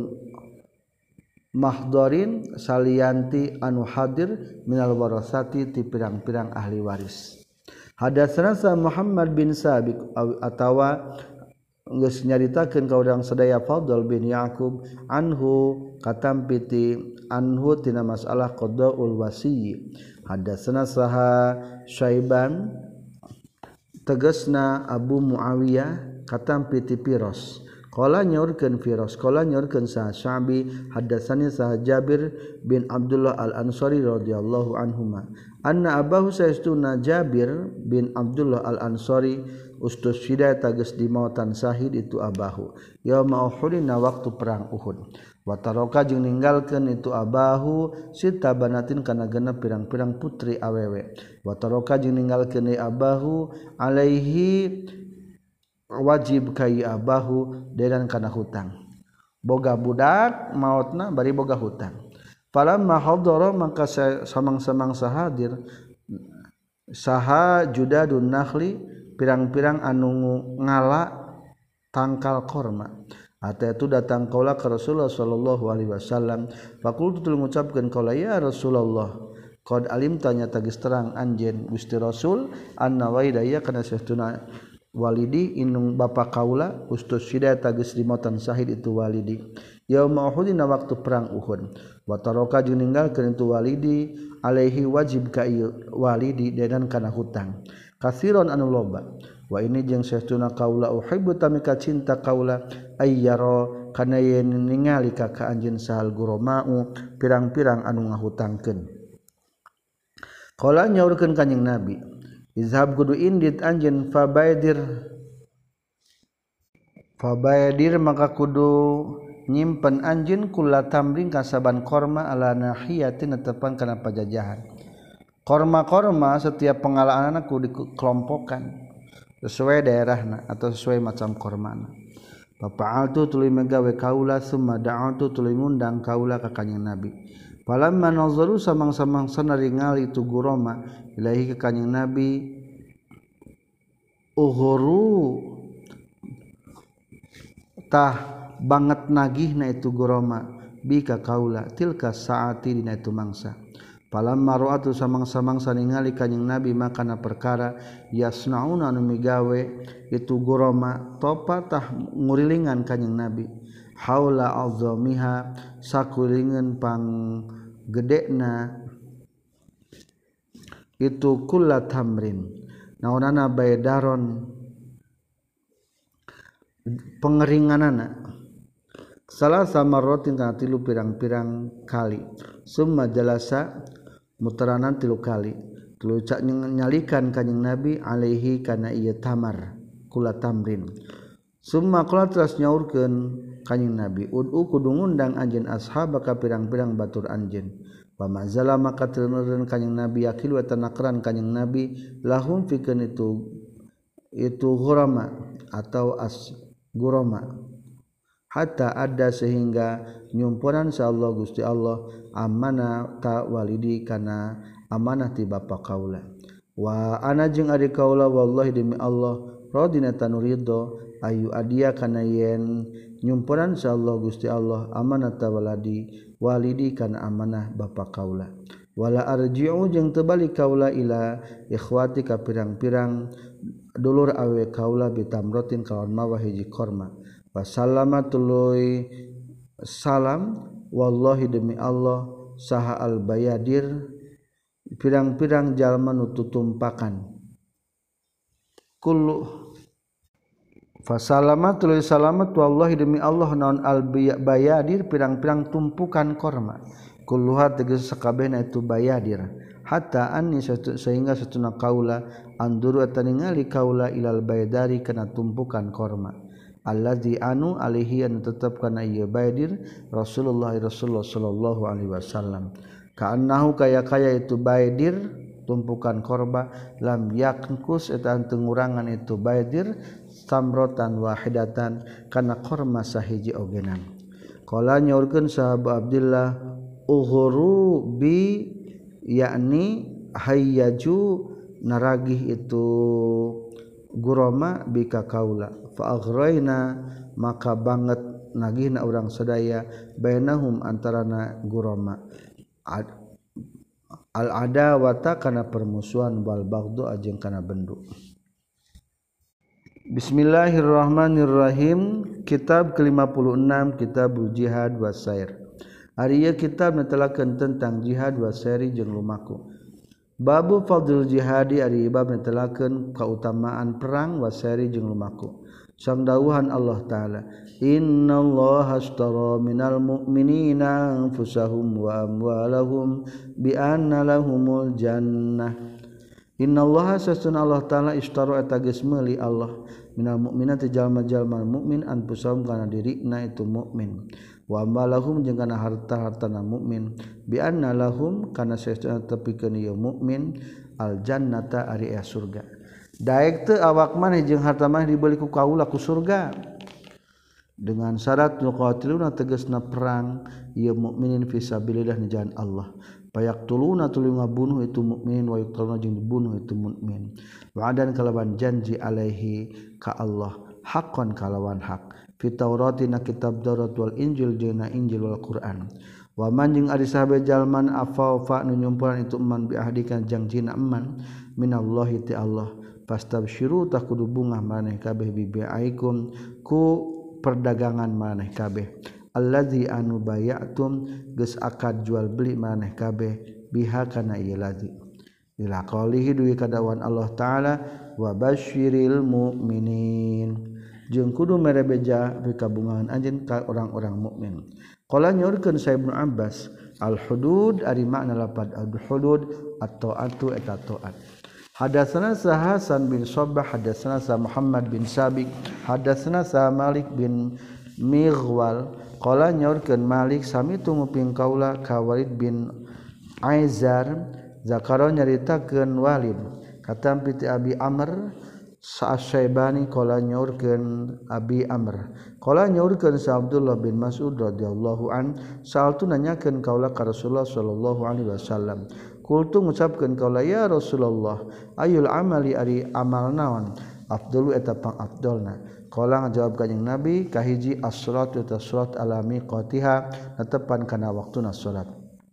Speaker 1: mahdarin salianti anu hadir minal warasati ti pirang-pirang ahli waris. Hadatsana Muhammad bin Sabiq atawa geus nyaritakeun ka urang sadaya Fadl bin Yaqub anhu katampiti anhu tina masalah qadaul wasi. Hadatsana saha Syaiban tegasna Abu Muawiyah katampiti Firas. Qala nyaurkeun Firas qala nyaurkeun sa Sya'bi hadatsani sa Jabir bin Abdullah Al-Ansari radhiyallahu anhuma anna abahu saestuna Jabir bin Abdullah Al-Ansari ustusyida tages dimautan sahid itu abahu yauma Uhud na waktu perang Uhud wa taraka jeung ninggalkeun itu abahu sita banatin kana genep pirang-pirang putri awewe wa taraka jeung ninggalkeun abahu alaihi wajib kai abahu dedan kana hutang boga budak mautna bari boga hutang falamma hadara maka samang-samang sahadir saha judadun nakhli pirang-pirang anu ngala tangkal korma ata itu datang kaula ka Rasulullah sallallahu alaihi wasallam faqultu tul ngucapkeun kaula ya Rasulullah qad alim tanya tagis terang anjeun Gusti Rasul anna waidaya kana saestuna walidi inung bapa kaula ustusyida tagis dimotan sahid itu walidi yauma Uhud dina waktu perang Uhud wa taraka jeung ninggalkeun itu walidi alaihi wajib ka walidi dedan kana hutang kasiron anu loba wa ini jeung saestuna kaula uhibbu tamika cinta kaula ayyara kana yen ningali ka ka anjeun sahal guromau pirang-pirang anu ngahutangkeun. Qala nyaurkeun kanjing Nabi izhab kudu indit anjeun fabaidir fabaidir maka kudu nyimpen anjeun kula tamring kasaban korma ala nahiyatin netepan kana pajajahan. Korma-korma setiap pengalaman kudu dikelompokkan sesuai daerahna atau sesuai macam kormana. Fa'altu tuluy megawe kaula summa da'atu tuluy ngundang kaula ka kanjing Nabi. Falamma nazaru samang-samang sanaringal itu guroma ilahi ka kanjing Nabi uhuru tah banget nagihna itu guroma bi ka kaula tilka saati dina itu mangsa. Falamma ra'atu samang-samang saningali kanjing Nabi makana perkara yasnauna anu migawe itu guroma topa tah ngurilingan kanjing Nabi haula azamiha sakulingan pang gedena itu kullat tamrin naonana baydaron pengeringanana salah sama rotin kana tilu pirang-pirang kali summa jalasa mutaranan tilu kali tilu cak nyalikan kanjing Nabi alaihi kana ieu tamar kullat tamrin summa qala teras nyaurkeun kanjing Nabi ud'u kudu ngundang anjeun ashabaka pirang-pirang batur anjeun pamazala maka teureun kanjing Nabi yakil wa tanakran kanjing Nabi lahum fikeun itu itu ghurama atau as gurama hatta ada sehingga nyumpuran insyaallah Gusti Allah amanah ta walidi kana amanah ti bapa kaula wa ana jeung ari kaula wallahi demi Allah radina tanurido ayu adia kana yen nyumpuran insyaallah Gusti Allah amanah ta waladi walidi kana amanah bapa kaula wala arji'u jeung teu balik kaula ila ikhwati ka pirang-pirang dulur awe kaula bitamrotin kawan mawah hiji korma wasallama tuluy salam wallahi demi Allah saha al bayadir pirang-pirang jalma nu tutumpakan kullu fasallama tuluy salamat wallahi demi Allah naon al bayadir pirang-pirang tumpukan korma kulluha tegas sakabehna itu bayadir hatta anni sehingga satuna kaula anduru eta ningali kaula ilal baydari kana tumpukan korma allazi anu alaihi anu tetep kana ieu baydir Rasulullah Rasulullah sallallahu alaihi wasallam kaannahu kaya-kaya itu baydir tumpukan korba lam yaknkus eta teu ngurangan itu baydir samrotan wahidatan kana korma sahiji ogenan qala nyaurkeun sahabat Abdullah ughuru bi yakni hayyaju naragih itu gurama bika kaula fa aghraina maka banget nagihna urang sadaya bainahum antarana gurama al adawata kana permusuhan wal baghdhu ajeng kana bendu. Bismillahirrahmanirrahim. Kitab ke lima puluh enam Kitabul Jihad Wasair. Ari ieu kitab netelakeun tentang jihad wasairi jeung lumaku. Babu fadlul jihadi ari bab netelakeun kautamaan perang wasairi jeung lumaku. Samdawuhan Allah taala innallaha ashtara minal mu'minina anfusahum wa amwalahum bi anna lahumul jannah innallaha sasuna Allah taala ishtara eta geus meuli Allah minal mu'minati jalma-jalma mukmin anfusahum kana dirina itu mukmin wa amwalahum jeung kana harta-hartana mukmin bi anna lahum kana sasuna tepikeun ieu mukmin al jannata ari surga daek teu awak maneh jeung harta maneh dibeli ku kaula ku surga dengan syarat nuqatiluna tegasna perang ieu mukminin fisabilillah di jalan Allah payaqtuluna tuluy ngabunuh itu mukminin wa yuqtaluna jeung dibunuh itu mukmin wa'adan kalawan janji alaihi ka Allah haqqan kalawan hak fi tauratina kitab Taurat wal Injil jeung Injil wal Quran wa man jeung ari sahabe jalman afa fa nu nyumpuran itu man bi ahdikan janjina eman minallahi ti Allah pastabsyiru tak kudu bungah maneh kabeh bibiaikum ku perdagangan maneh kabeh allazi anu bayatum geus akad jual beli maneh kabeh biha kana ieu lazi ila qaulihi duwi kadawan Allah taala wa basyiril mu'minin jeung kudu mere beja bikabungahan anjeun ka orang-orang mukmin qala nyorkeun sa Ibnu Abbas al hudud ari makna lapad al hudud atau atu eta taat. Hadatsana Hasan bin Shabbah hadatsana Muhammad bin Sabiq hadatsana Malik bin Mighwal qala nyorkeun Malik sami tumuping kaula ka Walid bin Aizar zakaro nyaritakeun Walid katam piti Abi Amr Sa'asyaibani qala nyorkeun Abi Amr qala nyorkeun sa Abdullah bin Mas'ud radhiyallahu an sa'altu nanyakeun kaula ka Rasulullah sallallahu alaihi wasallam kultu ngucapkeun kaula ya Rasulullah ayul amali ari amal naon afdalu eta pang afdalna qala ngajawab kanjing Nabi kahiji as-salatu ta salat ala miqatiha netepan kana waktuna salat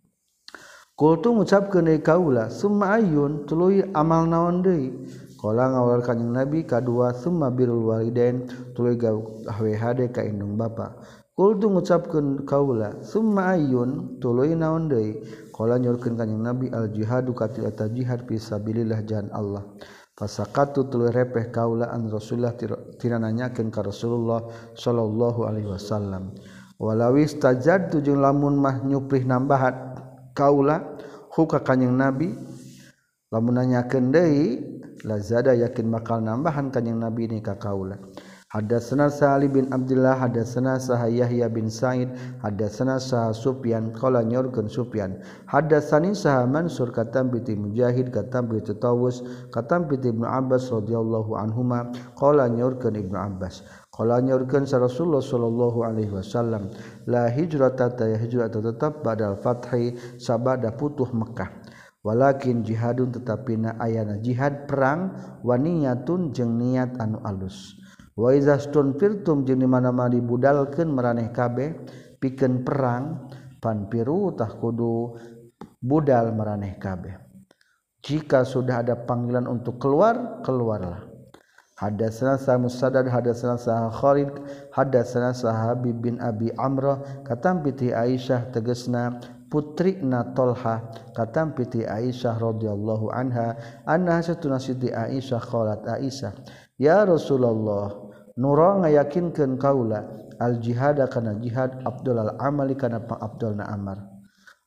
Speaker 1: kultu ngucapkeun deui kaula summa ayun tuluy amal naon deui qala ngawal kanjing Nabi kadua summa birrul walidain tuluy gawe hade ka indung bapa kultu ngucapkeun kaula summa ayun tuluy naon deui qala nyorkeun kanjing Nabi al jihadu katil eta jihad fi sabilillah jalan Allah fasaqatu tuluy repeh kaula an Rasulullah tina nanyakeun ka Rasulullah sallallahu alaihi wasallam walawis tajadtu jeung lamun mah nyuprih nambahan kaula hu ka kanjing Nabi lamun nanyakeun deui lazada yakin bakal nambahan kanjing Nabi ni ka kaula. Hadatsana Sa'ali bin Abdullah hadatsana Sah Yahya bin Sa'id hadatsana Sah Sufyan qala nyorkeun Sufyan hadatsani Sah Mansur katam bi Mujahid katam bi Tawus katam bi Ibnu Abbas radhiyallahu anhuma qala nyorkeun Ibnu Abbas qala nyorkeun sa Rasulullah sallallahu alaihi wasallam la hijrata ta hijrah tetap badal fathi sabada putuh Mekah walakin jihadun tetapina ayana jihad perang wa niyatun jeung niat anu alus wa iza stunfirtum jeung di mana-mana dibudalkeun maraneh kabeh pikeun perang panpiru tah kudu budal maraneh kabeh jika sudah ada panggilan untuk keluar keluarlah. Hadatsana sa Musaddad hadatsana sa Khalid hadatsana sa Habib bin Abi Amrah katam piti Aisyah tegasna putrina Tolha katam piti Aisyah radhiyallahu anha anna satuna siti Aisyah qalat Aisyah ya Rasulullah nura ngayakinkeun kaula al jihad kana jihad afdalul amali kana pang afdalna amal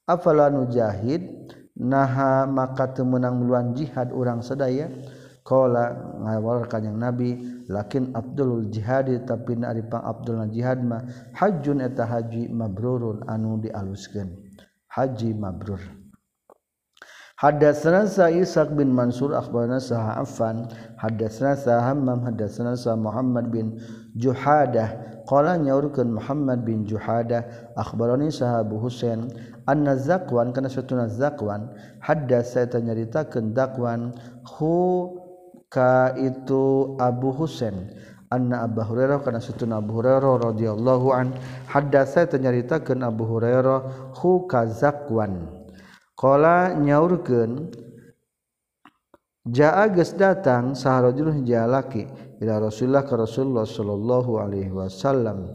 Speaker 1: afala nujahid naha maka teu meunang muluan jihad urang sadaya qala ngawal kanjing nabi lakin abdulul jihadi tapi na ari pang abdulna jihad mah hajjun eta haji mabrurun anu dialuskeun haji mabrur. Hadatsana sa Ishaq bin Mansur akhbarana sa Affan hadatsana sa Hammam hadatsana sa Muhammad bin Juhadah qala nyaurkeun Muhammad bin Juhadah akhbarani sa Abu Husain anna Zakwan kana satuna Zakwan hadatsa eta nyaritakeun Zakwan hu ka itu Abu Husain anna Abu Hurairah kana satuna Abu Hurairah radhiyallahu an hadatsa eta nyaritakeun Abu Hurairah hu ka Zakwan qala nyaurkeun jaa geus datang saharajul jalaki ila Rasulullah ka Rasulullah sallallahu alaihi wasallam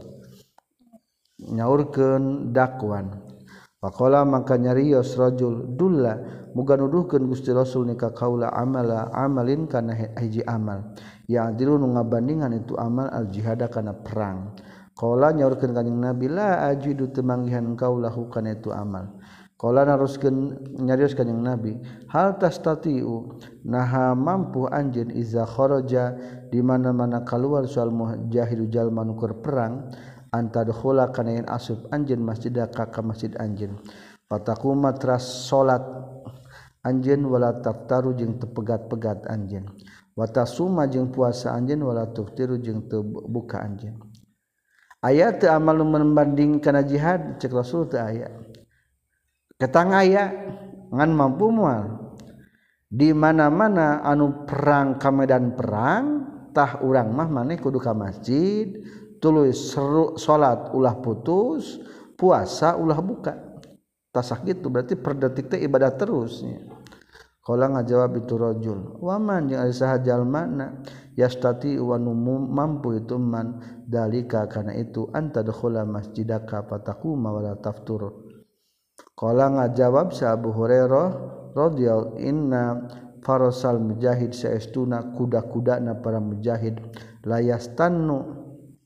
Speaker 1: nyaurkeun dakwan faqala maka nyarios rajul dulla muga nuduhkeun Gusti Rasul ni ka kaula amala amalin kana hiji amal ya adilu nu ngabandingan itu amal al jihad kana perang qala nyaurkeun kanjing Nabi la ajidu teu manggihan kaulahu kana itu amal qala naruskeun nyarios kanjing Nabi hal tastatiu naha mampu anjeun iza kharaja di mana-mana keluar soal mujahidu jalma nu keur perang antadkhula kana yen asup anjeun masjidah ka masjid anjeun fataquma tras salat anjeun wala taftaru jeung teu pegat-pegat anjeun wa tasuma jeung puasa anjeun wala tuftiru jeung teu buka anjeun aya teu amal nu membanding kana jihad cek Rasul teu aya ketang aya ngan mampu moal di mana-mana anu perang ka medan perang tah urang mah maneh kudu ka masjid tuluy seru salat ulah putus puasa ulah buka tasak gitu berarti per detik teh ibadah terus nya qala ngajawab itu rajul wa man jeung ari saha jalmana yastati wa mampu itu man dalika kana itu anta dakhula masjidaka fataquma wala taftur qala ngajawab sa Abu Hurairah radhiyallahu inna farasal mujahid saestuna kuda-kudana para mujahid layastannu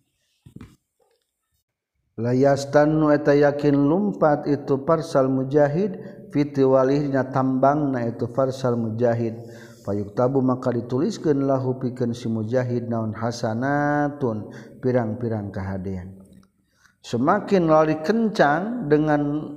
Speaker 1: layastannu eta yakin lumpat itu farsal mujahid fiti walihna tambangna itu farsal mujahid fayuktabu maka dituliskeun lahu pikeun si mujahid naon hasanatun pirang-pirang kahadean semakin lari kencang dengan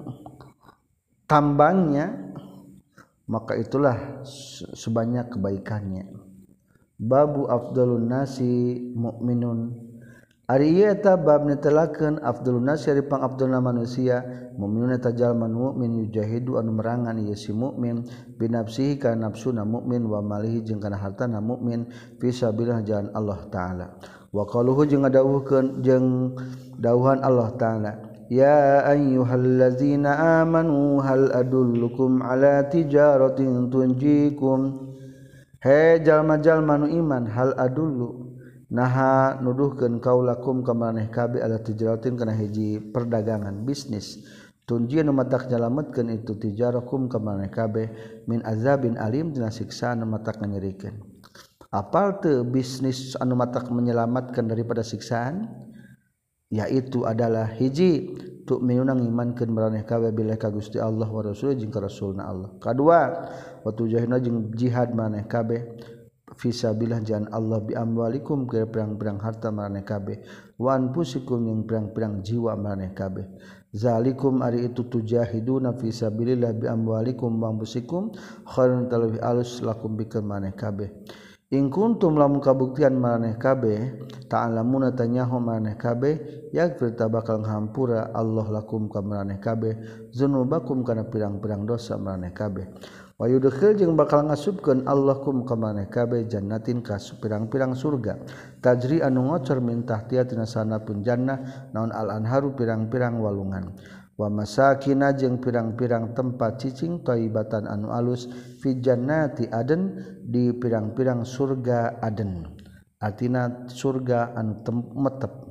Speaker 1: tambangnya maka itulah sebanyak kebaikannya babu afdalun nasi mukminun ari ieu eta bab netelakeun afdalun nasi ari pang afdalna manusia mukminun eta jalma mukmin yujahidu anu merangan ieu si mukmin binafsihi kana nafsuna mukmin wa malihi jeung kana hartana mukmin fi sabilillah jalan Allah taala wa qaluhu jeung ngadawuhkeun jeung dawuhan Allah taala ya ayyuhallazina amanu hal adullukum ala tijaratin tunjikum he jalma-jalma nu iman hal adullu naha nuduhkeun kaulakum ka maneh kabeh ala tijaratin kana hiji perdagangan bisnis tunji nu matak nyalametkeun itu tijarakum ka maneh kabeh min azabin alim tina siksaan nu matak nganyerikeun apal teu bisnis anu matak menyelamatkan daripada siksaan yaitu adalah hiji tu minuna ngimankeun maraneh kabeh bilih ka Gusti Allah wa Rasul jeung ka Rasulna Allah kadua wa tujahidna jeung jihad maraneh kabeh fisabilillah jalan Allah bi amwalikum ke perang-perang harta maraneh kabeh wa anfusikum jeung perang-perang jiwa maraneh kabeh zalikum ari itu tujahiduna fisabilillah bi amwalikum wa anfusikum khairun talwi alus lakum bikeun maraneh kabeh in kuntum lamun kabuktian maraneh kabeh ta'lamuna tanyahu maraneh kabeh yaghfir tabakal ngahampura Allah lakum ka maraneh kabeh dzunubakum kana pirang-pirang dosa maraneh kabeh wa yudkhil jeung bakal ngasupkeun Allahkum ka maraneh kabeh jannatin ka pirang-pirang surga tajri anu ngocor min tahtiha tina sanapun jannah naon al anharu pirang-pirang walungan wa masakina jeung pirang-pirang tempat cicing thayyibatan anu alus fi jannati aden di pirang-pirang surga aden artina surga anu metep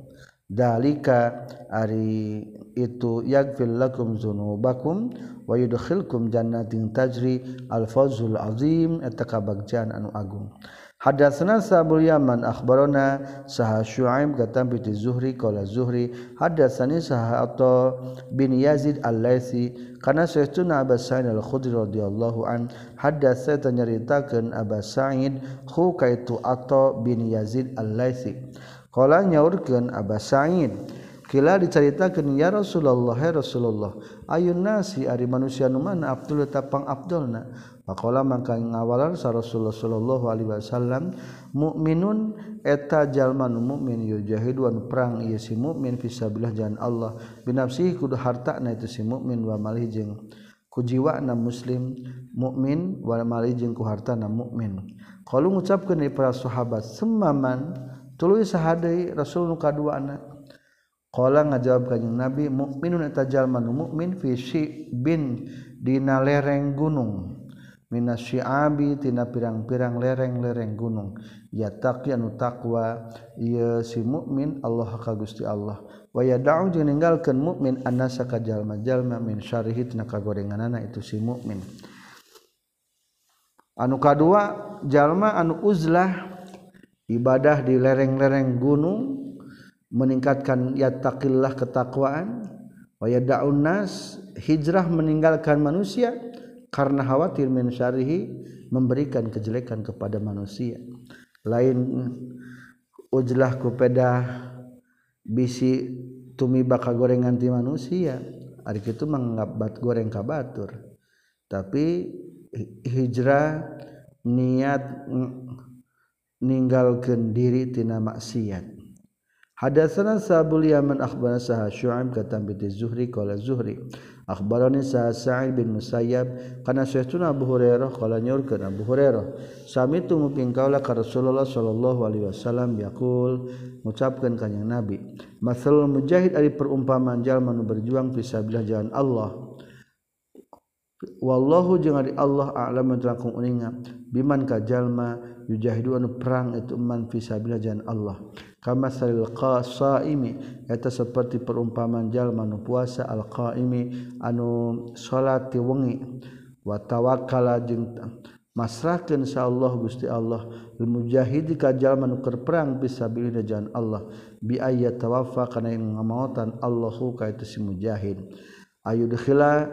Speaker 1: dalika ari itu yaghfir lakum dzunubakum wa yudkhilkum jannatin tajri al-fawzul azim eta kabagjan anu agung. Hadatsana Sabul Yaman akhbarana saha Syuaib katam bi Zuhri qala Zuhri hadatsani saha Atha bin Yazid al-Laitsi kana sayyiduna Abu Sa'id al-Khudri radhiyallahu an hadatsa tanyaritakeun Abu Sa'id hu kaitu Atha bin Yazid al-Laitsi qala nyaurkeun Abu Sa'id kila dicaritakeun ya Rasulullah ya Rasulullah ayun nasi ari manusia nu mana afdal tapang afdalna faqala mangka ngawalan sa Rasulullah sallallahu alaihi wasallam mukminun eta jalma nu mukmin yujahidu anu perang ieu si mukmin fisabilillah jalan Allah binafsihi kudu hartana itu si mukmin wa malih jeung ku jiwana muslim mukmin wa malih jeung ku hartana mukmin qalu ngucapkeun para sahabat semaman tuluy sahadeui Rasul nu kaduana qala ngajawab kanjing Nabi mukminun eta jalma nu mukmin fi bin dina lereng gunung minasyiabi tina pirang-pirang lereng-lereng gunung ya taqi anu taqwa ieu si mukmin Allah ka Gusti Allah wa yad'u jeung ninggalkeun mukmin annasa ka jalma-jalma min syarrihi tina kagorenganana itu si mukmin anu kadua jalma anu uzlah ibadah di lereng-lereng gunung meningkatkan yattaqillah ketakwaan wa yad'un nas hijrah meninggalkan manusia karena khawatir min syarihi memberikan kejelekan kepada manusia lain ujlah kupeda bisi tumiba kagorengan ti manusia ari kitu manggabat goreng ka batur tapi hijrah niat ninggalkeun diri tina maksiat. Hadatsana Sabul Yaman akhbarana saha Syu'aib katam bi Zuhri qala Zuhri akhbarani saha Sa'id bin Musayyab kana sayyiduna Abu Hurairah qala nyorkeun Abu Hurairah sami tu muping kaula ka Rasulullah sallallahu alaihi wasallam yaqul ngucapkeun kanjing Nabi masalul mujahid ari perumpamaan jalma nu berjuang fisabilillah jalan Allah wallahu jeung ari Allah a'lam langkung uninga biman ka jalma yujahidu anu perang itu man fisabilillah jalan Allah kama salil qasaimi eta seperti perumpamaan jalma nu puasa al qaimi anu salat ti wengi wa tawakkala jeung masrahkeun sa Allah Gusti Allah al mujahid ka jalma nu keur perang fisabilillah jalan Allah bi ayat tawaffa kana ngamaotan Allahu ka itu si mujahid ayudkhila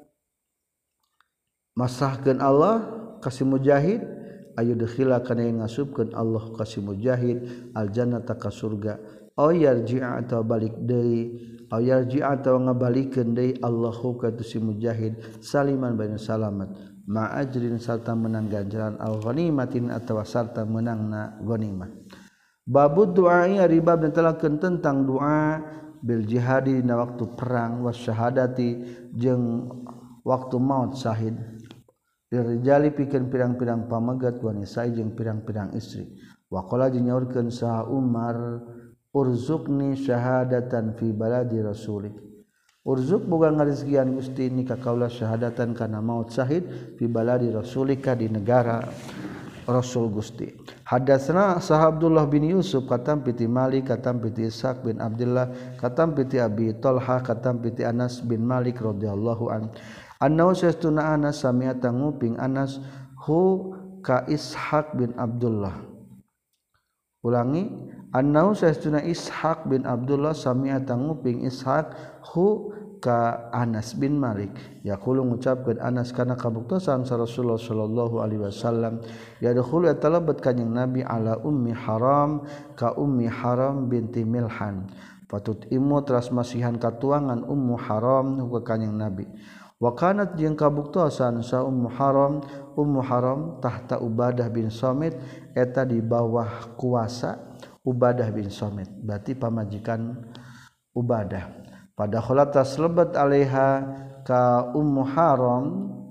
Speaker 1: masrahkeun Allah ka si mujahid ayudkhila kana ngasupkeun Allah ka si mujahid aljannata ka surga aw yarji'a atawa balik deui aw yarji'a atawa ngabalikeun deui Allahu ka si mujahid saliman baina salamat ma ajrin sarta menang ganjaran al ghanimatin atawa sarta menangna ghanimah babud du'ai ari bab netelakeun tentang doa bil jihadi dina waktu perang was syahadati jeung waktu maut syahid dirijali pikeun pirang-pirang pamagat wanita jeung pirang-pirang istri waqala jeung nyaurkeun saha Umar urzuqni syahadatan fi baladi rasulik urzuq boga ngarizkian Gusti ni ka kaula syahadatan kana maut syahid fi baladi rasulika di negara Rasul Gusti hadatsana saha Abdullah bin Yusuf katam piti Malik katam piti Ishaq bin Abdullah katam piti Abi Talha katam piti Anas bin Malik radhiyallahu an annahu sastuna Anas sami'ata nguping Anas hu ka Ishaq bin Abdullah ulangi annahu sastuna Ishaq bin Abdullah sami'ata nguping Ishaq hu ka Anas bin Malik yaqulu ngucapkeun Anas kana kabuktosan sa Rasulullah sallallahu alaihi wasallam yadkhulu talabat kanjing Nabi ala ummi Haram ka ummi Haram binti Milhan patut imu teras masihan katuangan ummu Haram ka kanjing Nabi wa kanat jeung kabuktosan sa ummu Haram ummu Haram tahta Ubadah bin Samit eta di bawah kuasa Ubadah bin Samit berarti pamajikan Ubadah pada kholatas lebat alaiha ka ummu Haram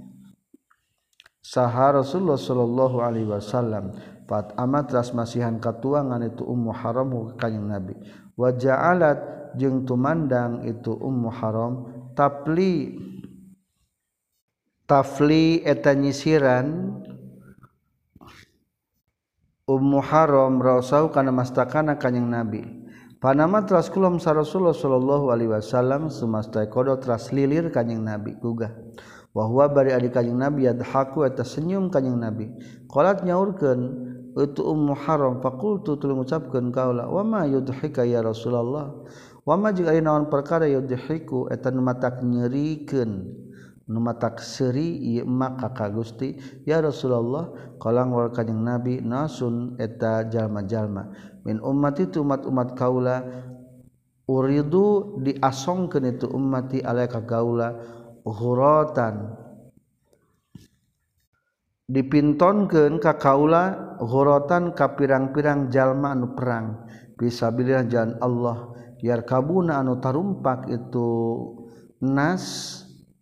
Speaker 1: saha Rasulullah sallallahu alaihi wasallam fat amat ras masihan katuangan itu ummu Haram ka kanjing Nabi wa ja'alat jeung tumandang itu ummu Haram tapli tafli eta nyisiran ummu Haram rausau kana mastakana kanjing Nabi Panama teras kulum sa Rasulullah sallallahu alaihi wasallam sumasta kodo teras lilir kanjing Nabi gugah. Wa huwa bari ari kanjing Nabi yadhaku eta senyum kanjing Nabi. Qalat nyaurkeun itu Ummu Haram faqultu tuluy ngucapkeun kaula wa ma yudhika ya Rasulullah. Wa ma jeung ari naon perkara yudhiku eta nu matak nyerikeun nu matak seuri ieu maka ka Gusti ya Rasulullah qalang wal kanjing Nabi nasun eta jalma-jalma min ummati tu umat-umat kaula uridu diasongkeun itu ummati alaika kaula ghuratan dipintonkeun ka kaula ghuratan ka pirang-pirang jalma anu perang fisabilillah jalan Allah yarkabuna anu tarumpak itu nas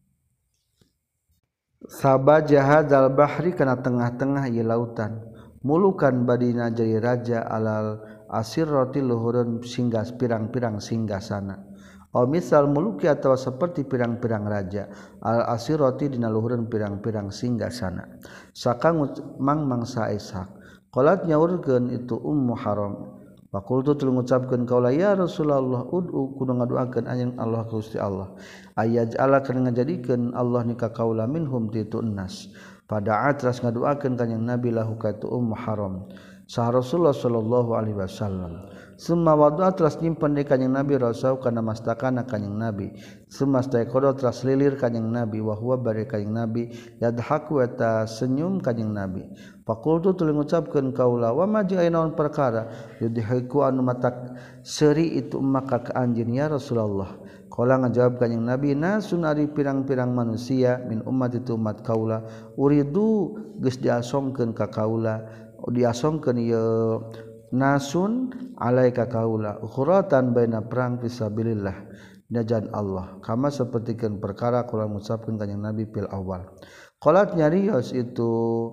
Speaker 1: sabajah hadzal bahri kana tengah-tengah ieu lautan mulukan badina jadi raja alal asirrati luhurun singgah pirang-pirang singgasana aw misal muluki atawa seperti pirang-pirang raja al asirrati dina luhurun pirang-pirang singgasana sakang mang mangsa ishaq qalat nyaurkeun itu Ummu Haram faqultu tuluy ngucapkeun kaula ya Rasulullah ud'u kudu ngaduakeun anjeun Allah Gusti Allah ayaj'ala kana ngajadikeun Allah nika kaula minhum titu nas pada atras ngaduakeun kanjing Nabi lahu ka tu Ummu Haram sah Rasulullah sallallahu alaihi wasallam summa wadu atras nyimpen di kanjing Nabi rasau kana mastakana kanjing Nabi summa staiqodo atras lilir kanjing Nabi wa huwa bari kanjing Nabi yadhaku eta senyum kanjing Nabi faqultu tuluy ngucapkeun kaula wa ma jeung naon perkara yudhiku anu matak seuri itu maka ka anjeun ya Rasulullah qala ngajawab kanjing Nabi nasun ari pirang-pirang manusia min ummat itu umat kaula uridu geus diasongkeun ka kaula diasongkeun ieu nasun alaika kaula khuratan baina perang fisabilillah najan Allah kama sapertikeun perkara kula ngucapkeun kanjing Nabi fil awal qalat nyarios itu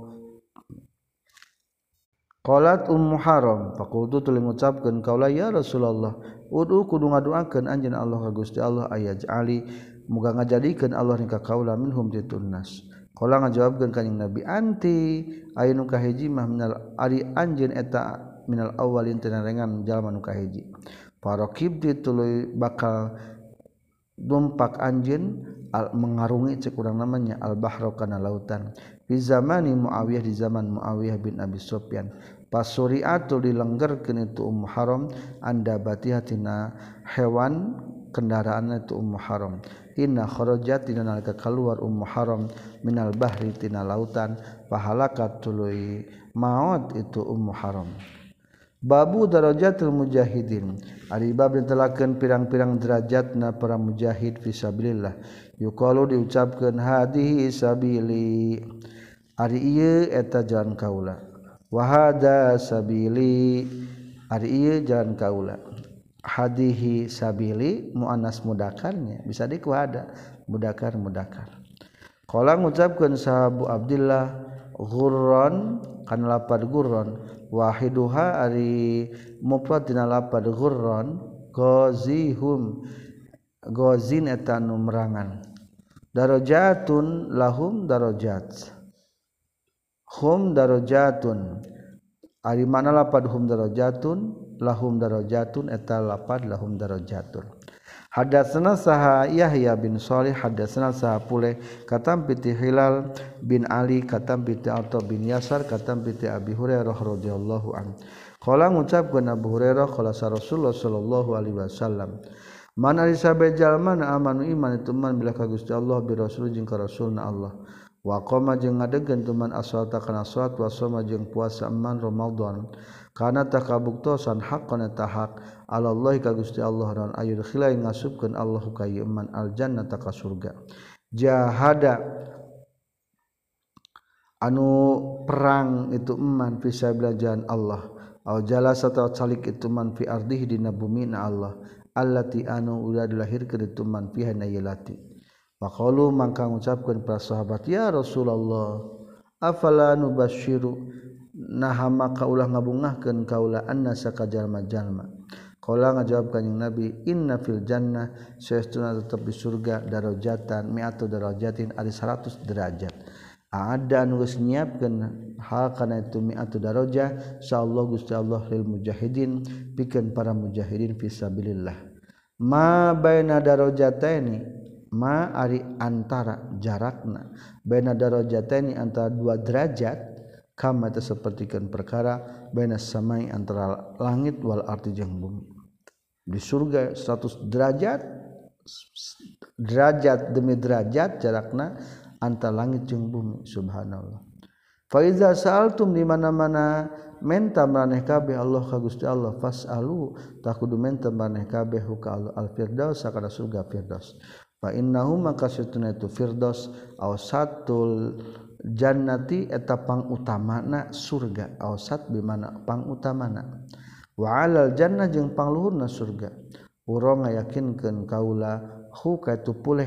Speaker 1: qalat Ummu Haram faqultu tuluy ngucapkeun kaula ya Rasulullah ud'u kudu ngaduakeun anjeun Allah ka Gusti Allah ayaj'ali muga ngajadikeun Allah nika kaula minhum titunnas qala ngajawabkeun kanjing Nabi anti anu kahiji mah minal ari anjeun eta minal awalin tenarengan jalma nu kahiji paraqib tuluy bakal dumpak anjeun mengarungi cek urang namanya al bahra kana lautan di zamani Muawiyah di zaman Muawiyah bin Abi Sufyan pasuriatul dilenggerkeun itu Ummu Haram anda batihatina hewan kendaraan itu Ummu Haram inna kharajat dina nalika keluar Ummu Haram minal bahri tina lautan fahalakat tuluy maut itu Ummu Haram babu darajatul mujahidin ari bab ditelakeun pirang-pirang derajatna para mujahid fisabilillah yuqalu diucapkeun hadihi sabili ari ieu eta jalan kaula wa hada sabili ari ieu jalan kaula hadihi sabili muannas mudakarnya bisa dikuada mudakar mudakar qala ngucapkeun sahabu Abdullah ghurran kana lapad ghurran wahiduha ari mufrad dina lapad ghurran ghazihum ghazin eta nu merangan darajatun lahum darajat hum darajatun ari mana lapad hum darajatun lahum darajatun eta lapad lahum darajatun hadatsana saha Yahya bin Shalih hadatsana saha pule katam piti Hilal bin Ali katam piti Atha bin Yasar katam piti Abi Hurairah radhiyallahu an qala ngucapkeun Abu Hurairah qala Rasulullah sallallahu alaihi wasallam man ari sabe jalma amanu iman itu man bila ka Gusti Allah bi rasul jeung ka rasulna Allah wa qama jeung ngadegkeun tuman aswata kana salat wa soma jeung puasa man Ramadan kana takabuktosan haqqan tahaq Allah ka Gusti Allah dan ayul khilai ngasupkeun Allah ka iman aljannata ka surga jahada anu perang itu iman fisabilillah jalan Allah au jalasa ta salik itu man fi ardihi dina bumina Allah allati anu ulah dilahirkeun itu man fiha nayilati faqalu mangka ngucapkeun para sahabat ya Rasulullah afala nubasyiru naha maka ulah ngabungahkeun kaula annasa ka jalma-jalma qala ngajawab kanjing Nabi inna fil jannah saestuna tetep di surga darajatan mi'atu darajatin ari seratus derajat ada nulis nyiapkeun hal kana itu mi'atu darajah insyaallah Gusti Allah lil mujahidin pikeun para mujahidin fisabilillah ma baina darajataini ma ari antara jarakna baina darajataini antara dua derajat kama teh sapertikeun perkara baina samai antara langit wal ardi jeung bumi di surga seratus derajat derajat demi derajat jarakna antara langit jeung bumi subhanallah fa iza sa'altum di mana-mana menta maraneh kabeh Allah ka Gusti Allah fasalu tak kudu menta maraneh kabeh ka Allah al firdaus sakana surga firdaus fa innahu maka satuna itu firdaus awsatul jannati eta pangutamana surga awsat bi mana pangutamana wa alal jannah jeung pangluhurna surga urang ngayakinkeun kaula hu ka tu puleh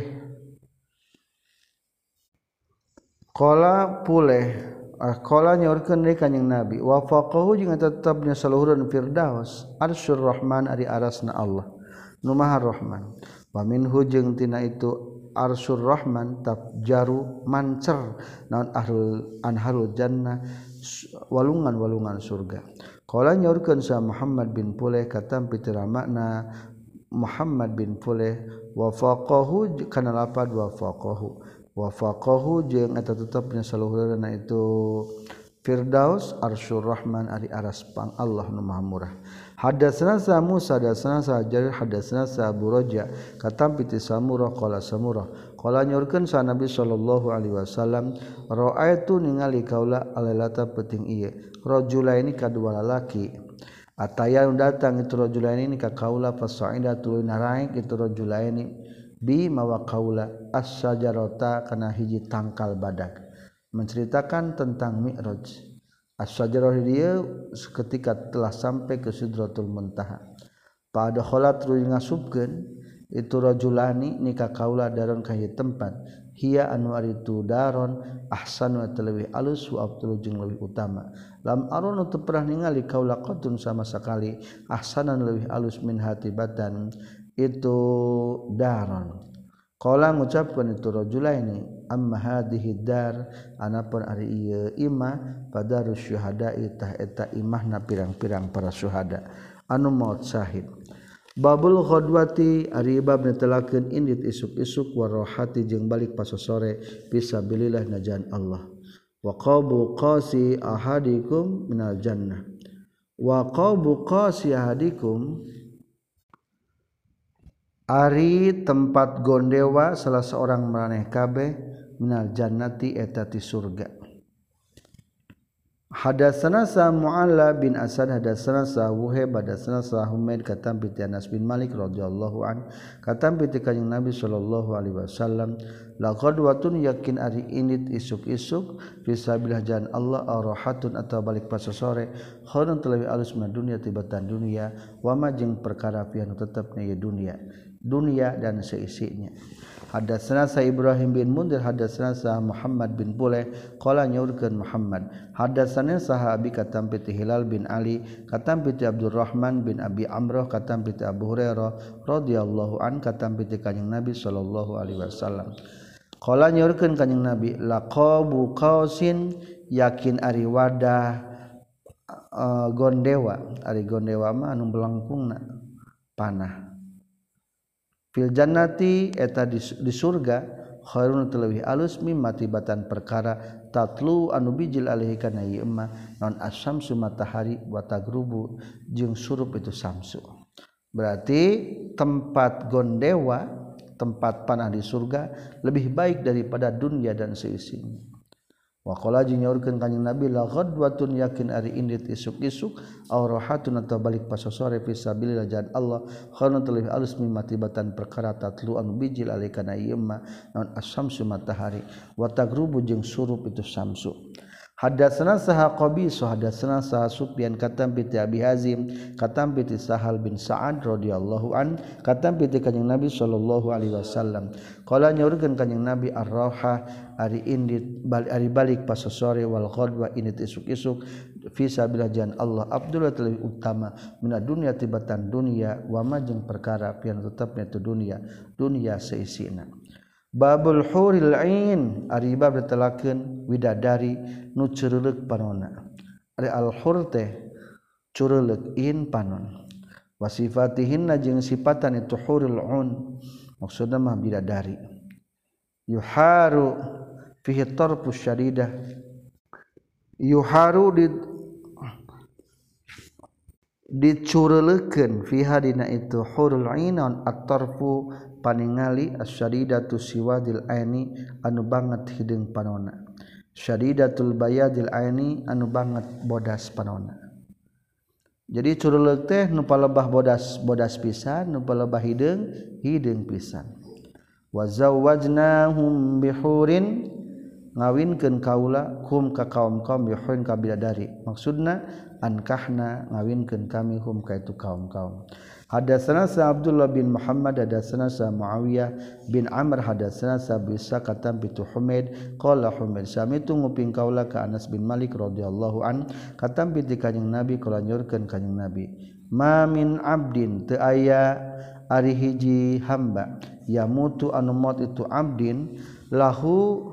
Speaker 1: qala puleh qala nyaurkeun deui kanjing nabi wa faqahu jeung tetepna saluhureun firdaus arsyur rahman ari arasna Allah nu maha rahman wa minhu jeung tina itu arsyur rahman tabjaru mancer naon ahlul anharul jannah walungan-walungan surga qala nyaurkeun sa Muhammad bin Puleh katam pitira makna Muhammad bin Puleh wa faqahu kana lapad wa faqahu wa faqahu jeung eta tetepna saluhureunna itu firdaus arsyur rahman ari aras pang Allah nu maha murah hadatsana sa Musa hadatsana sa Jarir hadatsana sa Abu Raja katam piti samurah qala samurah qala nyorkeun sa Nabi sallallahu alaihi wasallam ra'aitu ningali kaula alailata peuting ieu rajulaini kadua lalaki ataya datang itu rajulaini ka kaula fasaida tuluy naraik itu rajulaini bi mawa kaula as-sajarata kana hiji tangkal badak menceritakan tentang Mi'raj. As-sajarah dia ketika telah sampai ke Sidratul Muntaha. Pada kholat tuluy ngasupkeun itu rajulani nikah kaula daron ka ieu tempat. Hiya anu ari tu daron ahsanu leuwih alus wa abdul jeung leuwih utama. Lam arun teu pernah ningali kaula qatun sama sekali ahsanan leuwih alus min hatibatan itu daron. Qala ngucapkeun itu rajulaini amma hadhihi dar anapun ari ieu imah padarus syuhada tah eta imahna pirang-pirang para syuhada anu maut syahid babul ghadwati ari bab netelakeun indit isuk-isuk warohati jeung balik pasosore fisabilillah najan Allah wa qabu qasi ahadikum minal jannah wa qabu qasi ahadikum ari tempat gondewa salah seorang maraneh kabeh minal jannati eta ti surga. Hadatsana sa Mu'alla bin Asad hadatsana sa Wuhaib hadatsana sa Humaid katam bi Anas bin Malik radhiyallahu an katam bi kanjing Nabi sallallahu alaihi wasallam laqad watun yakin ari init isuk-isuk fisabilillah jalan Allah arahatun atau balik pasosore khairun talawi alus ma dunya tibatan dunia wa ma jeung perkara pian tetepna ieu dunia dunia dan seisinya. Hadatsana sa Ibrahim bin Mundir hadatsana sa Muhammad bin Puleh qala nyaurkeun Muhammad hadatsana sahabi katam piti Hilal bin Ali katam piti Abdurrahman bin Abi Amrah katam piti Abu Hurairah radhiyallahu an katam piti kanjing Nabi sallallahu alaihi wasallam qala nyaurkeun kanjing Nabi laqabu qausin yakin ari wadah uh, gondewa ari gondewa mah anu belangkungna panah fil jannati eta di, di surga khairun terlebih alus mimma tibatan perkara tatlu anu bijil alaihi kana ieu emma non asyamsu matahari wa tagrubu jeung surup itu samsu berarti tempat gondewa tempat panah di surga lebih baik daripada dunia dan seisinya wa qala nyaurkeun kanjing Nabi la ghadwatun yakin ari indit isuk-isuk aw rahatun atau balik pasosore fisabilillah jalan Allah khairun terlebih alus mimma tibatan perkara tatlu anu bijil alaikana ieu mah naon asyamsu matahari wa tagrubu jeung surup itu samsu hadatsana saha qabisa hadatsana saha Sufyan katam piti Abi Hazim katam piti Sahal bin Sa'ad radhiyallahu an katam piti kanjing Nabi sallallahu alaihi wasallam qala nyaurkeun kanjing Nabi ar-rauha ari indit balik ari balik pasosore wal ghadwa indit isuk-isuk fisabilillah jalan Allah abdullah lebih utama mina dunya tibatan dunia wa ma jeung perkara pian tetepna itu dunia dunia seisina babul huril ain ari bab datelakeun widadari nu ceureuleuh panonna ari al hur teh ceureuleuh in panon wasifatihinna jeung sifatan itu hurul un maksudna mah bidadari yuharu fihi tarfu syadidah yuharu di dicureulekeun fiha dina itu hurul ainon at-tarfu paningali asyadidatu siwadil aini anu banget hideung panonna syadidatul bayadil aini anu banget bodas panonna jadi cureuleuk teh nu palebah bodas bodas pisan nu palebah hideung hideung pisan wa zawwajnahum bihurin ngawinkeun kaula hum ka kaum-kaum bihurin ka bidadari maksudna ankahna ngawinkeun kami hum ka itu kaum-kaum hadatsana sa Abdullah bin Muhammad hadatsana sa Muawiyah bin Amr hadatsana sa Bisa katam bitu Humaid qala Humaid samitu nguping kaula ka Anas bin Malik radhiyallahu an katam bi kanjing Nabi kala nyorkeun kanjing Nabi ma min abdin teu aya ari hiji hamba yamutu anu maut itu abdin lahu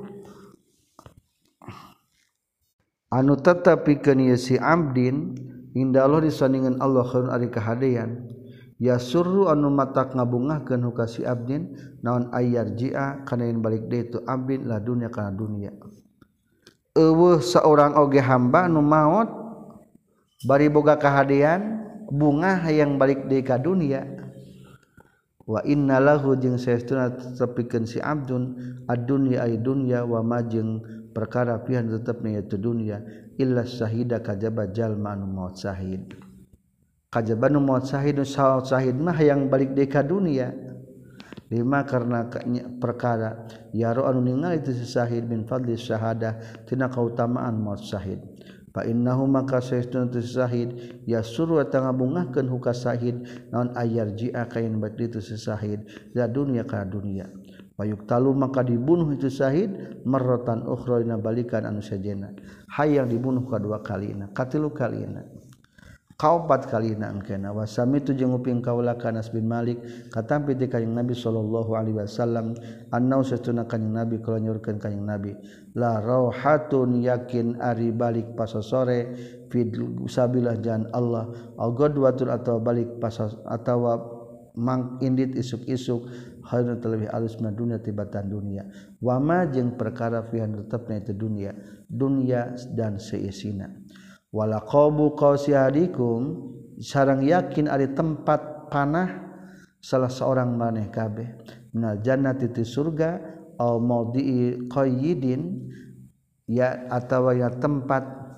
Speaker 1: anu tetapikeun ieu si abdin inda Allah disandingan Allah khairun ari kahadean yasurru anu matak ngabungahkeun huka si abdin naon ayarji'a kana yen balik deui tu abdin la dunya kana dunya eueuh saurang oge hamba anu maot bari boga kahadean bunga hayang balik deui ka dunya wa innalahu jeung saestuna tetepikeun si abdun ad-dunya ay dunya wa ma jeung perkara pian tetepna yaitu dunya illa syahida kajaba jalma anu maut syahid kajaba anu maut syahid nu syahid mah hayang balik deui ka dunya lima karena perkara yaro anu ningali itu si syahid min fadli syahadah tina kautamaan maut syahid fa innahu maka saestuna tu syahid yasuru ta ngabungahkeun huka syahid naon ayarji'a kain balik itu si syahid da dunya ka dunya wayuktalu maka dibunuh itu syahid marratan ukhra dina balikan anu sajena hayang dibunuh kadua kalina katilu kalina kaopat kalina engkena wasami tu jeung uping kaula ka Anas bin Malik katampi ti kanjing Nabi sallallahu alaihi wasallam annau satuna kanjing Nabi kala nyurkeun kanjing Nabi la rauhatun yakin ari balik pasasore fi sabillah jalan Allah au gadwatul atau balik pas atawa mang indit isuk-isuk hayrun terlebih alus na dunia tibatan dunia wama jeung perkara fihan tetepna itu dunia dunia dan seisina wala qabu qausihadikum sareng yakin ari tempat panah salah seorang maneh kabeh minal jannati ti surga au maudhi'i qayyidin ya atawa ya tempat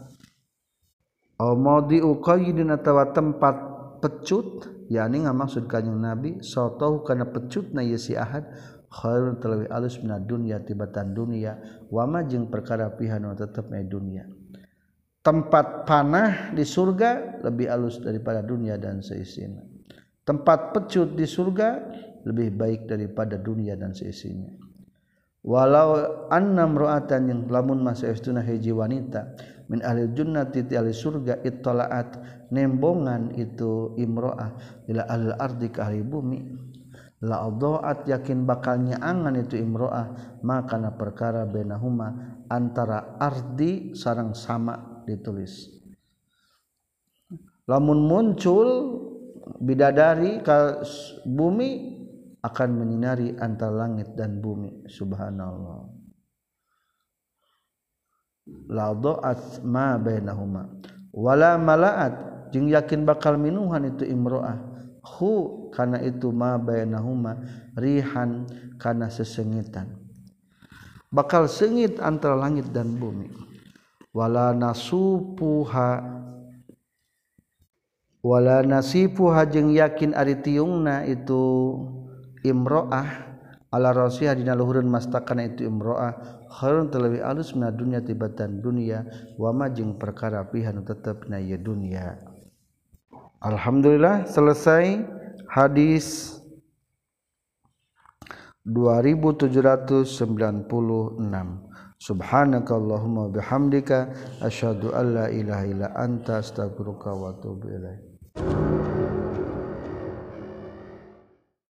Speaker 1: au maudhi'u qayyidin atawa tempat pecut yakni ngamaksud kanjing Nabi sotoh kana pecutna ieu si ahad khairun terlebih alus minad dunya tibatan dunia wama jeung perkara pihanu tetepna dunia tempat panah di surga lebih alus daripada dunia dan seisinya tempat pecut di surga lebih baik daripada dunia dan seisinya walau anna mra'atan yang lamun masa istuna hiji wanita min ahli jannati ti ahli surga ittalaat nembongan itu imro'ah ila ahli ardi ka ahli bumi la adhaat yakin bakal nyaangan itu imro'ah maka na perkara bainahuma antara ardi sareng sama ditulis lamun muncul bidadari ka bumi akan menyinari antara langit dan bumi subhanallah la dha'at ma bainahuma wala malaat jeung yakin bakal minuhan itu imro'ah hu kana itu ma bainahuma rihan kana sesengitan bakal sengit antara langit dan bumi wala nasupuha wala nasifuha jeung yakin ari tiungna itu imro'ah ala rasiha dina luhureun mastakana itu imro'ah khairun terlebih alus mina dunya tibatan dunia wa ma jeung perkara pihan tetepna ieu dunia. Alhamdulillah selesai hadis dua ribu tujuh ratus sembilan puluh enam. Subhanakallahumma bihamdika asyhadu an la ilaha illa anta astaghfiruka wa atubu ilaik.